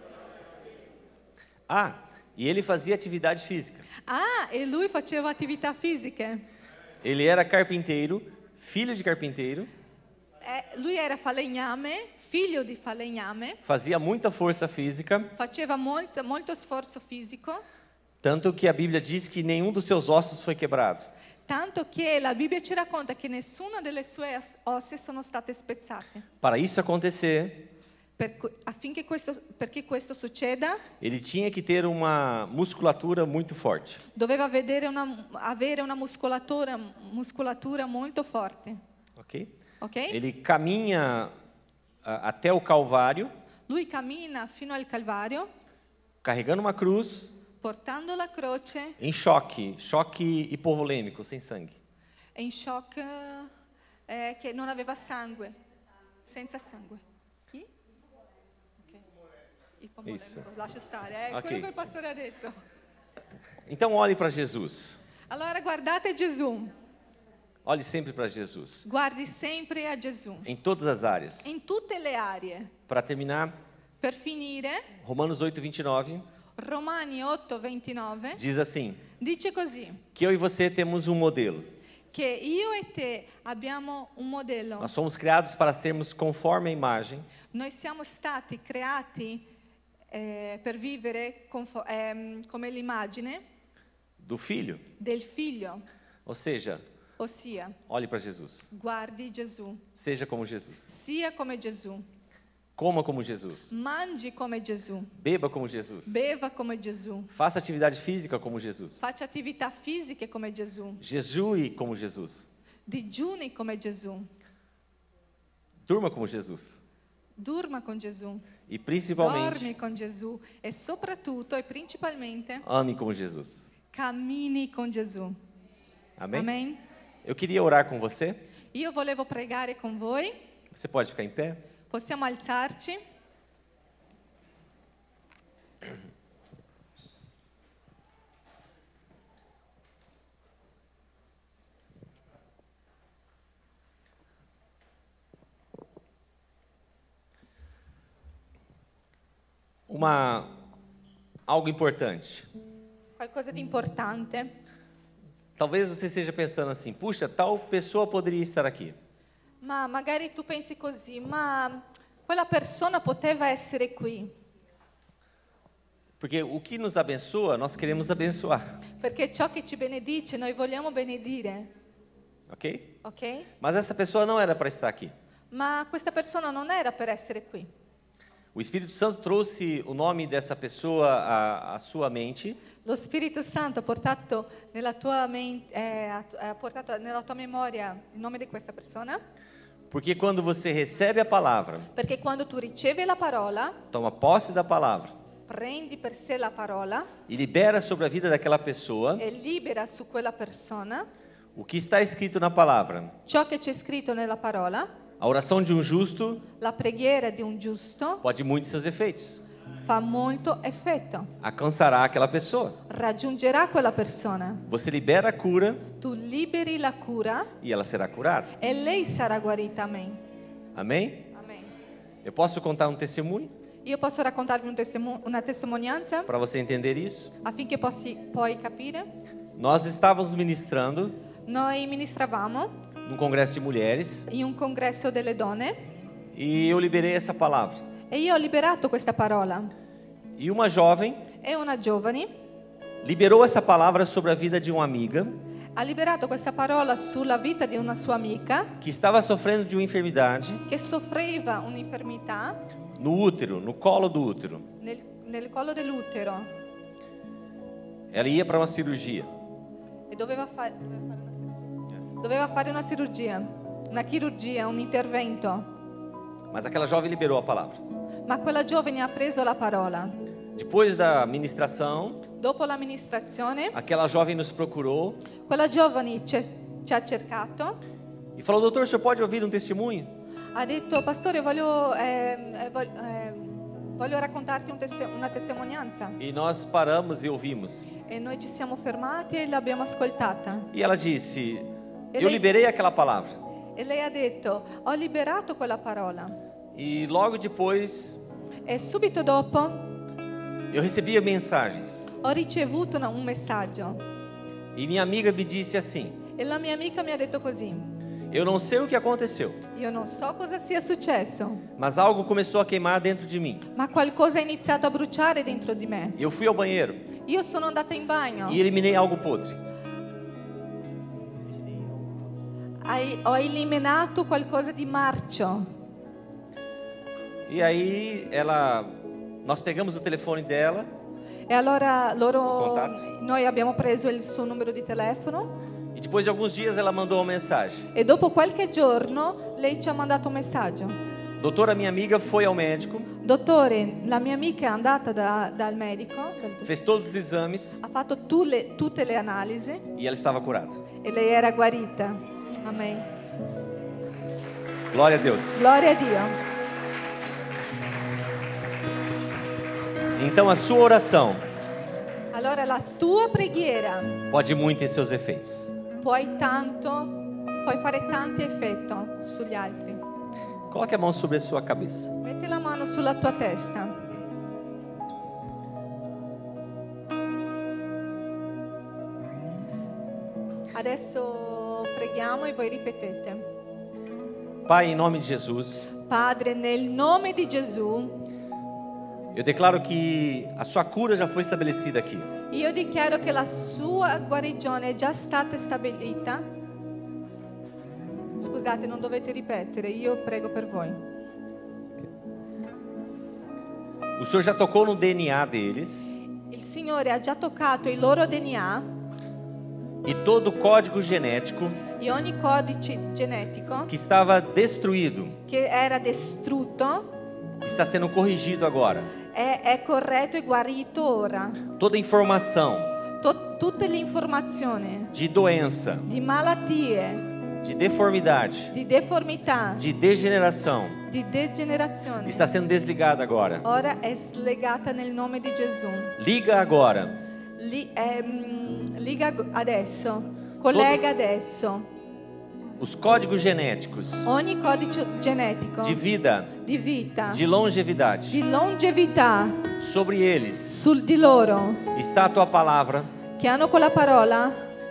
Ah, e ele fazia atividade física. Ah, e lui faceva attività fisiche. Ele era carpinteiro, filho de carpinteiro, Eh, lui era falegname, figlio di falegname, fazia muita força física, faceva molto, molto sforzo fisico, tanto que a Bíblia diz que nenhum dos seus ossos foi quebrado. tanto che la Bibbia ci racconta che nessuna delle sue os- ossa sono state spezzate. Para isso acontecer, Per cui- affinché questo, perché questo succeda, ele tinha que ter uma musculatura muito forte. doveva vedere una- avere una muscolatura, muscolatura molto forte. Ok? Ok? Ele caminha ah, até o Calvário, Lui cammina fino al Calvario, carregando uma cruz, portando la croce, em choque, choque hipovolêmico, sem sangue. è in shock eh, che non aveva sangue, senza sangue. Chi? Ok. Isso. Ipomolemico, lascia stare, è Ok. quello che il pastore ha detto. Então olhe para Jesus. Allora guardate Gesù, Olhe sempre para Jesus, guardi sempre a Gesù, em todas as áreas. in tutte le aree. Para terminar, Per finire, Romanos oito, vinte e nove Romani otto ventinove diz assim: dice così, que eu e você temos um modelo. che io e te abbiamo un modello. Nós somos criados para sermos conforme a imagem Noi siamo stati creati eh, per vivere confo- ehm, come l'immagine do Filho. del figlio, Ou seja, ossia olhe para Jesus. guardi Gesù, Seja como Jesus. sia come Gesù, Coma como Jesus. mangi come Gesù, Beba como Jesus. beva come Gesù, Faça atividade física como Jesus. faccia attività fisiche come Gesù, Jejue como Jesus. digiuni come Gesù, Durma como Jesus. durma con Gesù, E principalmente, dormi con Gesù e soprattutto e principalmente ame como Jesus. cammini con Gesù. Amém? Amen. Eu queria orar com você. Io volevo pregare con voi, Você pode ficar em pé? possiamo alzarci? Uma algo importante. Qualcosa di importante. Talvez você esteja pensando assim: puxa, tal pessoa poderia estar aqui. Ma magari tu pensi così, ma quella persona poteva essere qui. Porque o que nos abençoa, nós queremos abençoar. Perché ciò che ci benedice, noi vogliamo benedire. Ok? Ok? Mas essa pessoa não era para estar aqui. Ma questa persona non era per essere qui. O Espírito Santo trouxe o nome dessa pessoa à, à sua mente. Lo Spirito Santo ha portato nella tua, men- eh, ha- ha portato nella tua memoria il nome di questa persona. Porque quando você recebe a palavra, Perché quando tu ricevi la parola, toma posse da palavra prendi per sé la parola e libera sobre a vida daquela pessoa e libera su quella persona o que está escrito na palavra. ciò che c'è scritto nella parola, A oração de um justo la preghiera di un giusto pode muitos seus efeitos. fa molto effetto. Alcançará aquela pessoa. Raggiungerà quella persona. Você libera a cura Tu liberi la cura e ela será curada. e lei sarà guarita. Amen. Amém? Amen. Eu posso contar um testemunho Io posso raccontarvi un testimo- una testimonianza para você entender isso? affinché possi poi capire. Nós estávamos ministrando Noi ministravamo num congresso de mulheres in un congresso delle donne e eu liberei essa palavra. e io ho liberato questa parola. E uma jovem E una giovane liberou essa palavra sobre a vida de uma amiga ha liberato questa parola sulla vita di una sua amica que estava sofrendo de uma enfermidade che soffriva un'infermità no útero, no colo do útero. nel, nel collo dell'utero Ela ia para uma cirurgia. e doveva, fa- doveva fare una, doveva fare una cirurgia, una chirurgia, un intervento. Mas aquela jovem liberou a palavra. Ma quella giovane ha preso la parola. Depois da ministração, Dopo l'amministrazione, aquela jovem nos procurou quella giovane ci, ci ha cercato, e falou: doutor, o senhor pode ouvir um testemunho? ha detto, pastore, voglio, ehm, eh, vog- ehm, voglio raccontarti un teste- una testimonianza. E nós paramos e ouvimos. E noi ci siamo fermati e l'abbiamo ascoltata. E ela disse: E eu lei- liberei aquela palavra. E lei ha detto, ho liberato quella parola. E logo depois E subito dopo eu recebia mensagens. ho ricevuto una- un messaggio. E minha amiga me disse assim: E la mia amica mi ha detto così. eu não sei o que aconteceu, Io non so cosa sia successo, mas algo começou a queimar dentro de mim. ma qualcosa ha iniziato a bruciare dentro di me. Eu fui ao banheiro Io sono andata in bagno, e eliminei algo podre. hai- ho eliminato qualcosa di marcio. E aí ela, nós pegamos o telefone dela E allora loro, Contatto. noi abbiamo preso il suo numero di telefono e depois de alguns dias ela mandou uma mensagem: e dopo qualche giorno lei ci ha mandato un messaggio. doutora, minha amiga foi ao médico, Dottore, la mia amica è andata da- dal medico, dal- fez todos os exames ha fatto tu le- tutte le analisi e ela estava curada. e lei era guarita. Amen. Glória a Deus. Gloria a Dio. Então a sua oração Allora la tua preghiera pode muito em seus efeitos. puoi tanto, puoi fare tanti effetti sugli altri. Coloque a mão sobre a sua cabeça. Metti la mano sulla tua testa. Adesso preghiamo e voi ripetete. Pai, em nome de Jesus, Padre, nel nome di Gesù, eu declaro que a sua cura já foi estabelecida aqui. io dichiaro che la sua guarigione è già stata stabilita. Scusate, non dovete ripetere, io prego per voi. O Senhor já tocou no D N A deles Il Signore ha già toccato il loro D N A e todo o código genético e ogni codice genetico que estava destruído che era distrutto está sendo corrigido agora. è, è corretto e guarito ora. Toda informação To- tutte le informazioni de doença, di malattie, de deformidade, di deformità, de degeneração di degenerazione está sendo desligada agora. ora è slegata nel nome di Gesù. Liga agora Li- ehm, liga adesso, collega adesso os códigos genéticos ogni codice genetico de vida, di vita, de longevidade di longevità sobre eles. sul di loro Está a tua palavra che hanno quella parola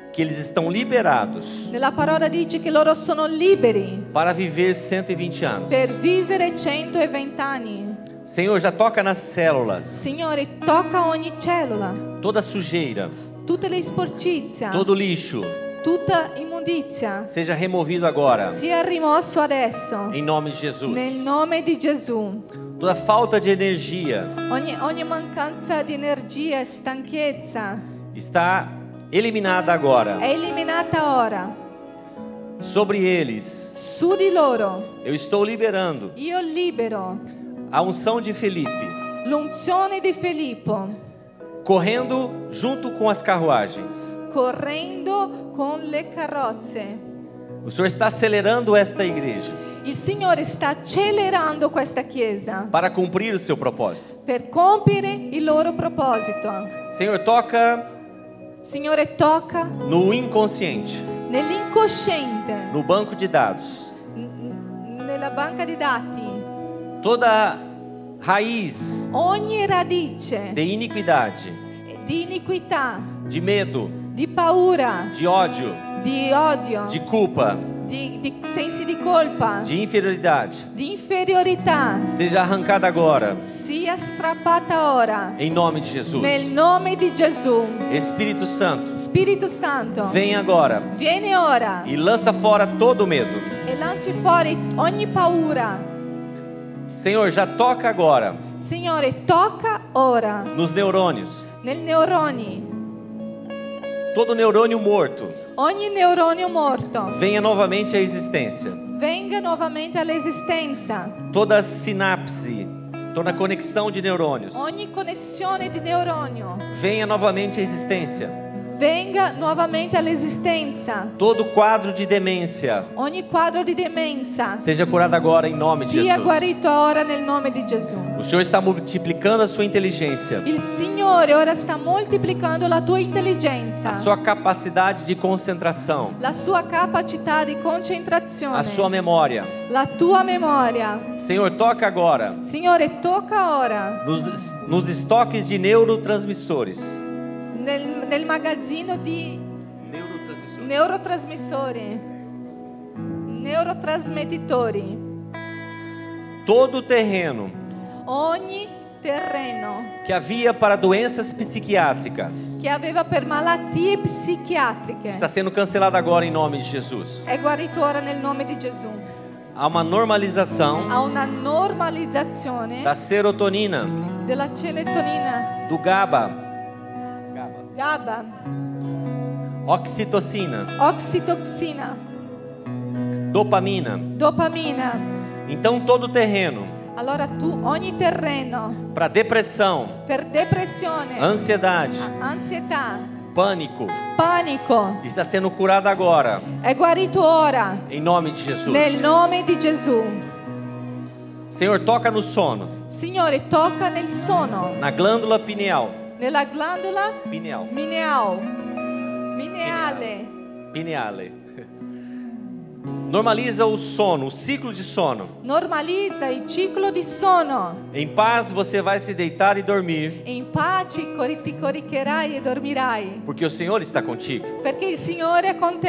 que eles estão liberados Nella parola dice che loro sono liberi para viver cento e vinte anos. per vivere centoventi anni. Senhor, já toca nas células, Signore, tocca ogni cellula, toda sujeira, tutte le sporcizie, todo lixo, tutta immondizia seja removido agora, sia rimosso adesso em nome de Jesus. nel nome di Gesù. Toda falta de energia Ogni, ogni mancanza di energia e stanchezza está eliminada agora. è eliminata ora. Sobre eles, Su di loro eu estou liberando io libero a unção de Felipe, l'unzione di Filippo, correndo junto com as carruagens. correndo con le carrozze. O Senhor está acelerando esta igreja Il Signore sta accelerando questa chiesa para cumprir o seu propósito. per compiere il loro proposito. Senhor, toca Signore, tocca no inconsciente, nell'incosciente, no banco de dados, n- nella banca di dati, toda raiz ogni radice de iniquidade, di iniquità, de medo, di paura, de ódio, di odio, de culpa, di, di sensi di colpa, de inferioridade, di inferiorità, seja arrancada agora, sia strappata ora, em nome de Jesus. nel nome di Gesù. Espírito Santo, Spirito Santo, vem agora vieni ora e lança fora todo medo. e lanci fuori ogni paura. Senhor, já toca agora Signore, tocca ora nos neurônios, nel neuroni, todo neurônio morto, ogni neuronio morto venha novamente à existência. venga nuovamente all'esistenza, Toda sinapse, toda conexão de neurônios, ogni connessione di neuronio venha novamente à existência. venga nuovamente all'esistenza, Todo quadro de demência ogni quadro di demenza seja curado agora em nome de sia Jesus. guarito ora nel nome di Gesù. O Senhor está multiplicando a sua inteligência, Il Signore ora sta moltiplicando la tua intelligenza, a sua capacidade de concentração, la sua capacità di concentrazione, a sua memória. la tua memoria. Senhor, toca agora Signore, tocca ora nos, nos estoques de neurotransmissores. nel, nel magazzino di Neurotransmissores. neurotrasmissori, neurotrasmettitori, Todo o terreno ogni terreno que havia para doenças psiquiátricas che aveva per malattie psichiatriche está sendo cancelado agora em nome de Jesus. è guarito ora nel nome di Gesù. Há uma normalização Ha una normalizzazione da serotonina, della serotonina, do GABA, GABA, oxitocina, oxitoxina, dopamina. dopamina. Então todo o terreno Allora tu ogni terreno para depressão, per depressione, ansiedade, ansietà, pânico panico está sendo curado agora è guarito ora em nome de Jesus. nel nome di Gesù. Senhor, toca no sono, Signore, tocca nel sono, na glândula pineal, nella glandola pineal, mineal, mineale. pineale. Normaliza o sono, o ciclo de sono. Normalizza il ciclo di sonno. Em paz você vai se deitar e dormir, E in pace cori- ti coricherai e dormirai, porque o Senhor está contigo. perché il Signore è con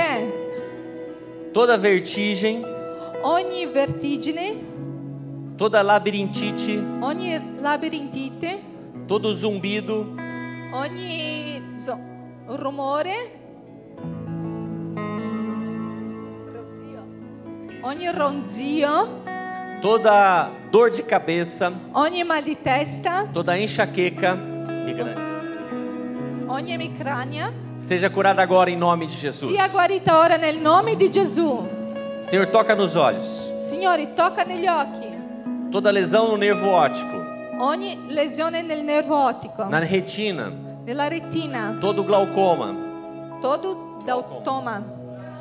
te. Toda vertigem, Ogni vertigine, toda labirintite, ogni labirintite, todo zumbido, ogni zo- rumore, ogni ronzio, toda dor de cabeça, ogni mal di testa, toda enxaqueca, migrânia, ogni emicrania, seja curada agora em nome de Jesus. sia guarita ora nel nome di Gesù. Senhor, toca nos olhos. Signore, tocca negli occhi, Toda lesão no nervo óptico, ogni lesione nel nervo ottico, na retina, nella retina, todo glaucoma, todo glaucoma,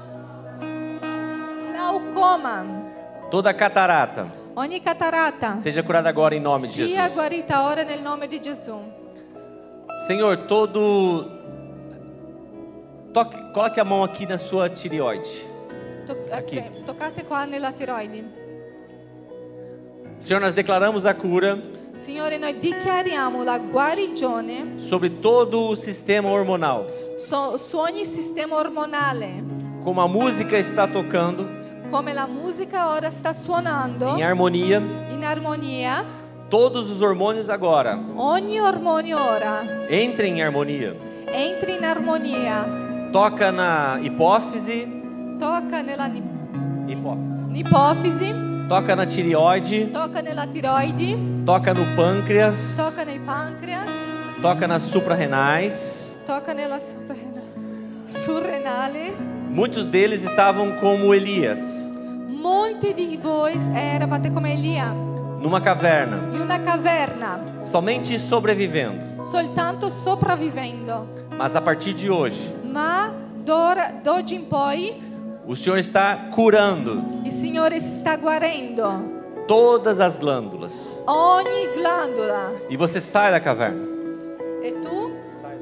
glaucoma, toda catarata, ogni catarata, seja curada agora em nome de sia Jesus. guarita ora nel nome di Gesù. Senhor, todo toque, coloque a mão aqui na sua tireoide. To- Aqui. ok, toccate qua nella tiroide. Senhor, nós declaramos a cura Signore, noi dichiariamo la guarigione sobre todo o sistema hormonal. so- su ogni sistema ormonale, como a música está tocando come la musica ora sta suonando em harmonia, in armonia, todos os hormônios agora ogni ormone ora entrem em harmonia. entri in armonia, Toca na hipófise, tocca nella ni- hipófise. ipofisi, Toca na tireoide, tocca nella tiroidi, toca no pâncreas, tocca nei pancreas, toca nas suprarrenais. tocca nella suprarrenale, surrenale. Muitos deles estavam como Elias, Molti di voi eravate come Elia, numa caverna, in una caverna, somente sobrevivendo. soltanto sopravvivendo. Mas a partir de hoje, Ma d'ora, d'oggi in poi o Senhor está curando il Signore sta guarendo todas as glândulas. ogni glandola. E você sai da caverna. E tu?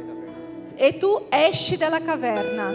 E tu esci dalla caverna.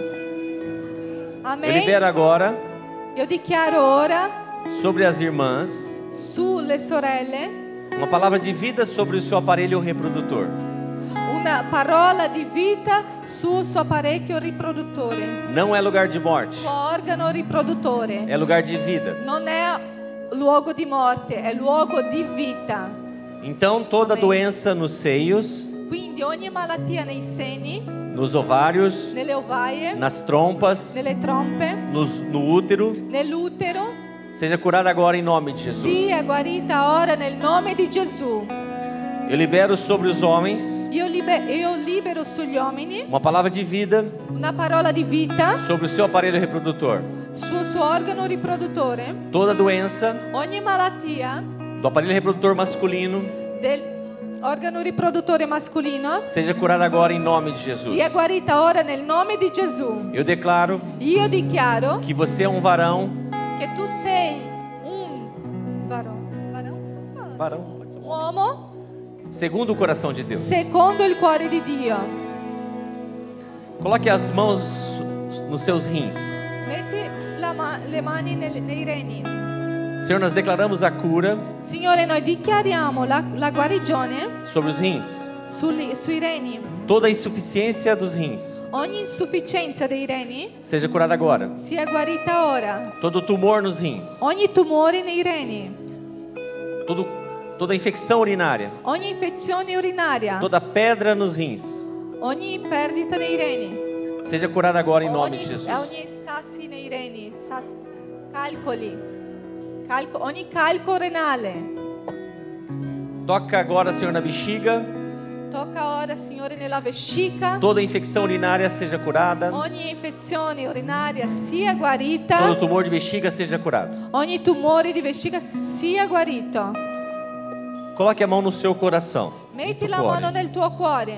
Eu Amen. libero agora Io dichiaro ora sobre as irmãs sulle sorelle uma palavra de vida sobre o seu aparelho reprodutor. una parola di vita sul suo apparecchio riproduttore, Não é lugar de morte, suo organo riproduttore. é lugar de vida. Non è luogo di morte, è luogo di vita. Então toda Amém. doença nos seios, Quindi ogni malattia nei seni, nos ovários, nelle ovaie, nas trompas, nelle trompe, nos, no útero, nell'utero, seja curada agora em nome de Jesus. sia guarita ora nel nome di Gesù. Eu libero sobre os homens Io, libe- io libero sugli uomini uma palavra de vida una parola di vita sobre o seu aparelho reprodutor. sul suo organo riproduttore. Toda doença Ogni malattia do aparelho reprodutor masculino dell'organo riproduttore mascolino seja curada agora em nome de Jesus. sia guarita ora nel nome di Gesù. Eu declaro Io dichiaro que você é um varão, che tu sei un varone, varone? varão, un uomo segundo o coração de Deus. secondo il cuore di Dio. Coloque as mãos nos seus rins. Metti la ma- le mani nel- nei reni. Senhor, nós declaramos a cura Signore, noi dichiariamo la, la guarigione sobre os rins. sui, sui reni. Toda a insuficiência dos rins Ogni insufficienza dei reni seja curada agora. sia guarita ora. Todo tumor nos rins, Ogni tumore nei reni, todo, toda infecção urinária, ogni infezione urinaria, toda pedra nos rins, ogni perdita nei reni, seja curada agora em nome ogni, de Jesus. ogni sassi nei reni, sassi, calcoli, calco, ogni calco renale. Toca agora, Senhor, na bexiga. Tocca ora, Signore, nella vescica. Toda infecção urinária seja curada. Ogni infezione urinaria sia Todo guarita. tumor de bexiga seja curado. Ogni tumore di vescica sia guarito. Coloque a mão no seu coração. Metti no la seu mano cuore. nel tuo cuore.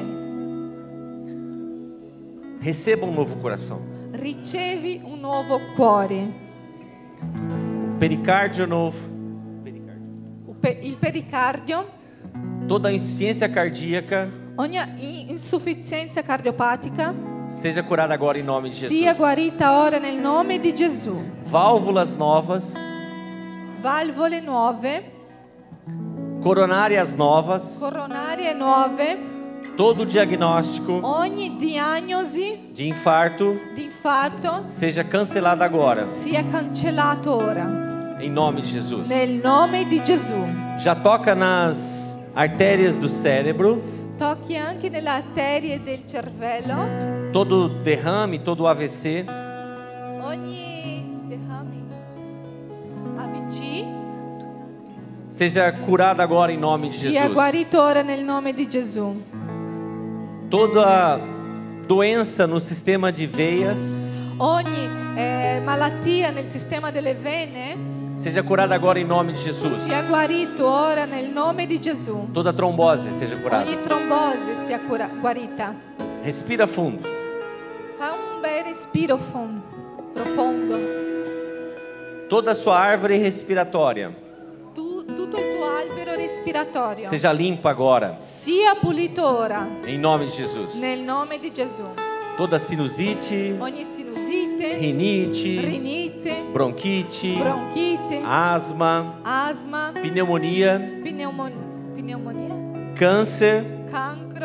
Receba um novo coração. Ricevi un nuovo cuore. Pericárdio novo. Il pe- Il pericardio. Toda insuficiência cardíaca Ogni i- insufficienza cardiopatica seja curada agora em nome de sia Jesus. guarita ora nel nome di Gesù. Válvulas novas, Valvole nuove, coronárias novas, coronarie nuove, todo diagnóstico ogni diagnosi de infarto di infarto seja cancelado agora, sia cancellato ora em nome de Jesus. nel nome di Gesù. Já toca nas artérias do cérebro, Tocchi anche nelle arterie del cervello, todo derrame, todo A V C, ogni derrame, A V C seja curado agora em nome de sia Jesus. guarito ora nel nome di Gesù. Toda doença no sistema de veias Ogni eh, malattia nel sistema delle vene seja curada agora em nome de Jesus. sia guarito ora nel nome di Gesù. Toda trombose seja curada. Ogni trombose sia cura- guarita. Respira fundo. Fa un bel respiro fon- profondo. Toda a sua árvore respiratória Tu- tutto il tuo albero respiratorio seja limpa agora, sia pulito ora em nome de Jesus. nel nome di Gesù. Toda sinusite, Ogni sinusite, rinite, rinite, bronquite, bronchite, asma, asma, pneumonia, pneumon- pneumonia, câncer, cancro,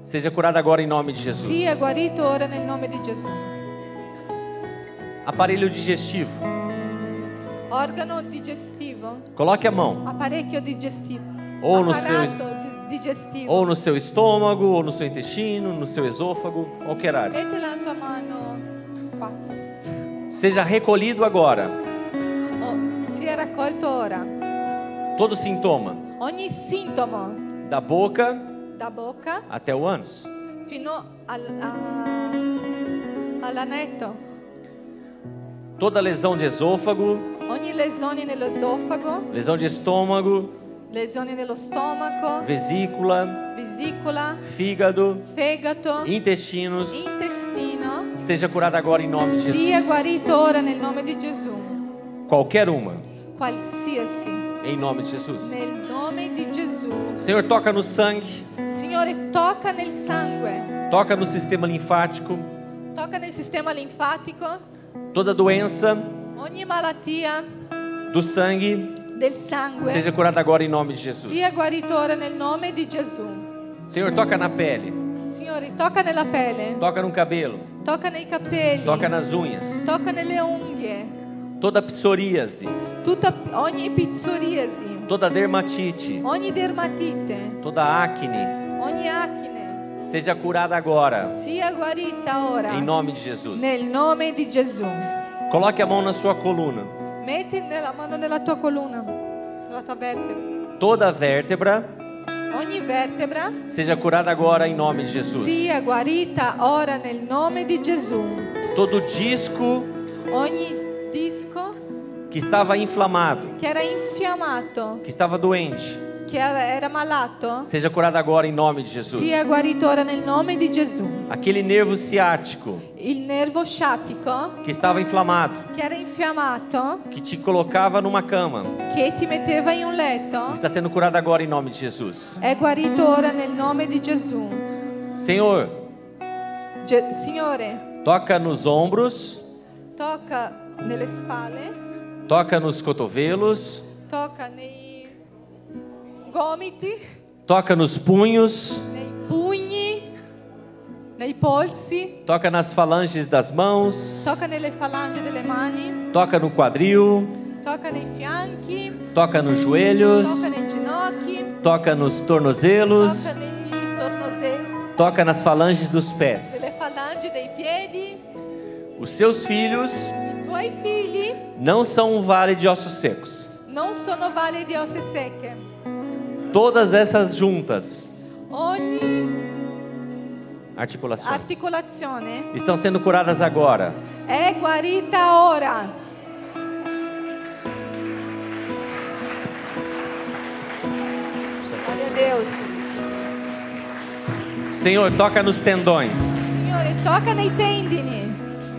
seja curado agora em nome de Jesus. sia guarito ora nel nome di Gesù. Aparelho digestivo, Organo digestivo, coloque a mão, apparecchio digestivo, ou no seu, apparato di- digestivo. ou no seu estômago, ou no seu intestino, no seu esôfago, qualquer área. Metti la tua mano qua. Seja recolhido agora Oh, sia raccolto ora. todo sintoma, Ogni sintomo da boca da bocca até o ânus. fino al, a- all'anetto, Toda lesão de esôfago, ogni lesione nell'esofago, lesão de estômago, lesioni nello stomaco, vesícula, vesicola, fígado, fegato, intestinos, intestino, seja curada agora em nome de sia Jesus. guarito ora nel nome di Gesù. Qualquer uma, Qualsiasi, em nome de Jesus. nel nome di Gesù. Senhor, toca no sangue, Signore, tocca nel sangue, toca no sistema linfático, tocca nel sistema linfatico, toda doença ogni malattia do sangue del sangue seja curada agora em nome de Jesus. sia guarito ora nel nome di Gesù. Senhor, toca na pele, Signore, tocca nella pelle, toca no cabelo, tocca nei capelli, toca nas unhas, tocca nelle unghie, toda psoríase, tutta, ogni psoriasi, toda dermatite, ogni dermatite, toda acne, ogni acne, seja curada agora sia guarita ora em nome de Jesus. nel nome di Gesù. Coloque a mão na sua coluna. Metti la mano nella tua colonna, nella tua vertebra. Toda vértebra Ogni vertebra seja curada agora em nome de Jesus. sia guarita ora nel nome di Gesù. Todo disco Ogni disco que estava inflamado, che era infiammato, que estava doente, che era malato, seja curada agora em nome de Jesus. sia guarito ora nel nome di Gesù. Aquele nervo ciático Il nervo sciatico que estava inflamado, che era infiammato, que te colocava numa cama, che ti metteva in un letto, está sendo curada agora em nome de Jesus. è guarito ora nel nome di Gesù. Senhor, Ge- Signore, toca nos ombros, tocca nelle spalle, toca nos cotovelos, tocca nei gomiti, toca nos punhos, nei pugni, nei polsi, toca nas falanges das mãos, tocca nelle falangi delle mani, toca no quadril, tocca nei fianchi, toca nos joelhos, tocca nei ginocchi, toca nos tornozelos, tocca nei tornozeli, toca nas falanges dos pés. nelle falangi dei piedi. Os seus filhos I tuoi figli não são um vale de ossos secos. non sono valli di ossa secche. Todas essas juntas, Ogni articulações, articolazione estão sendo curadas agora. è guarita ora. Glória a Deus. Senhor, toca nos tendões. Signore, tocca nei tendini.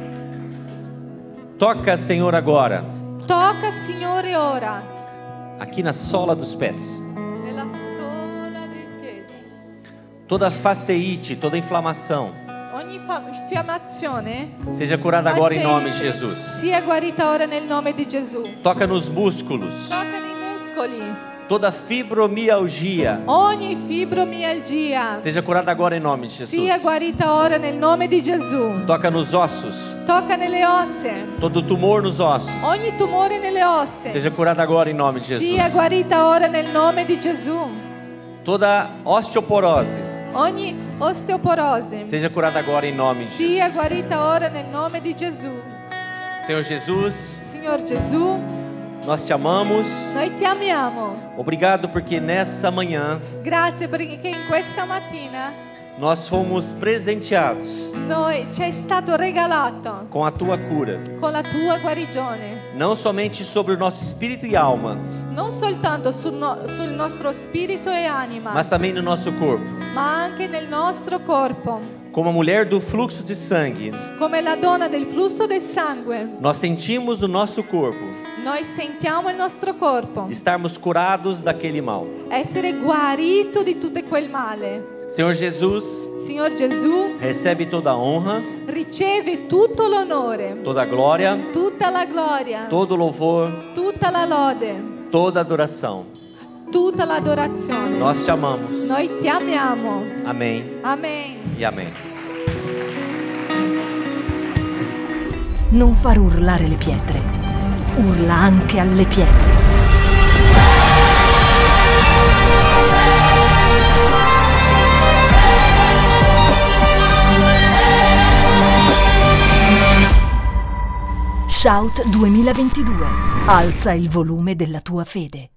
Toca, Senhor, agora, Tocca, Signore, ora. aqui na sola dos pés. Nella sola dei piedi. Toda faceite, toda inflamação, Ogni fa- infiammazione seja curada agora em nome de facente Jesus. sia guarita ora nel nome di Gesù. Toca nos músculos. Tocca nei muscoli. Toda fibromialgia, Ogni fibromialgia seja curada agora em nome de Jesus. sia guarita ora nel nome di Gesù. Toca nos ossos. Tocca nelle ossa. Todo tumor nos ossos, Ogni tumore nelle ossa seja curada agora em nome de sia Jesus. guarita ora nel nome di Gesù. Toda osteoporose, Ogni osteoporose seja curada agora em nome de sia Jesus. guarita ora nel nome di Gesù. Senhor Jesus, Signor Gesù, nós te amamos. noi ti amiamo. Obrigado porque nessa manhã Grazie perché in questa mattina nós fomos presenteados noi ci è stato regalato com a tua cura, con la tua guarigione, não somente sobre o nosso espírito e alma, non soltanto sul, no- sul nostro spirito e anima, mas também no nosso corpo. ma anche nel nostro corpo. Como a mulher do fluxo de sangue, Come la donna del flusso del sangue, nós sentimos no nosso corpo noi sentiamo il nostro corpo estarmos curados daquele mal. essere guarito di tutto quel male. Senhor Jesus, Signor Gesù, recebe toda a honra, riceve tutto l'onore, toda a glória, tutta la gloria, todo o louvor, tutta la lode, toda a adoração. tutta l'adorazione. Nós te amamos. Noi ti amiamo. Amém Amen. e amém. Non far urlare le pietre. Urla anche alle pietre. Shout duemilaventidue. Alza il volume della tua fede.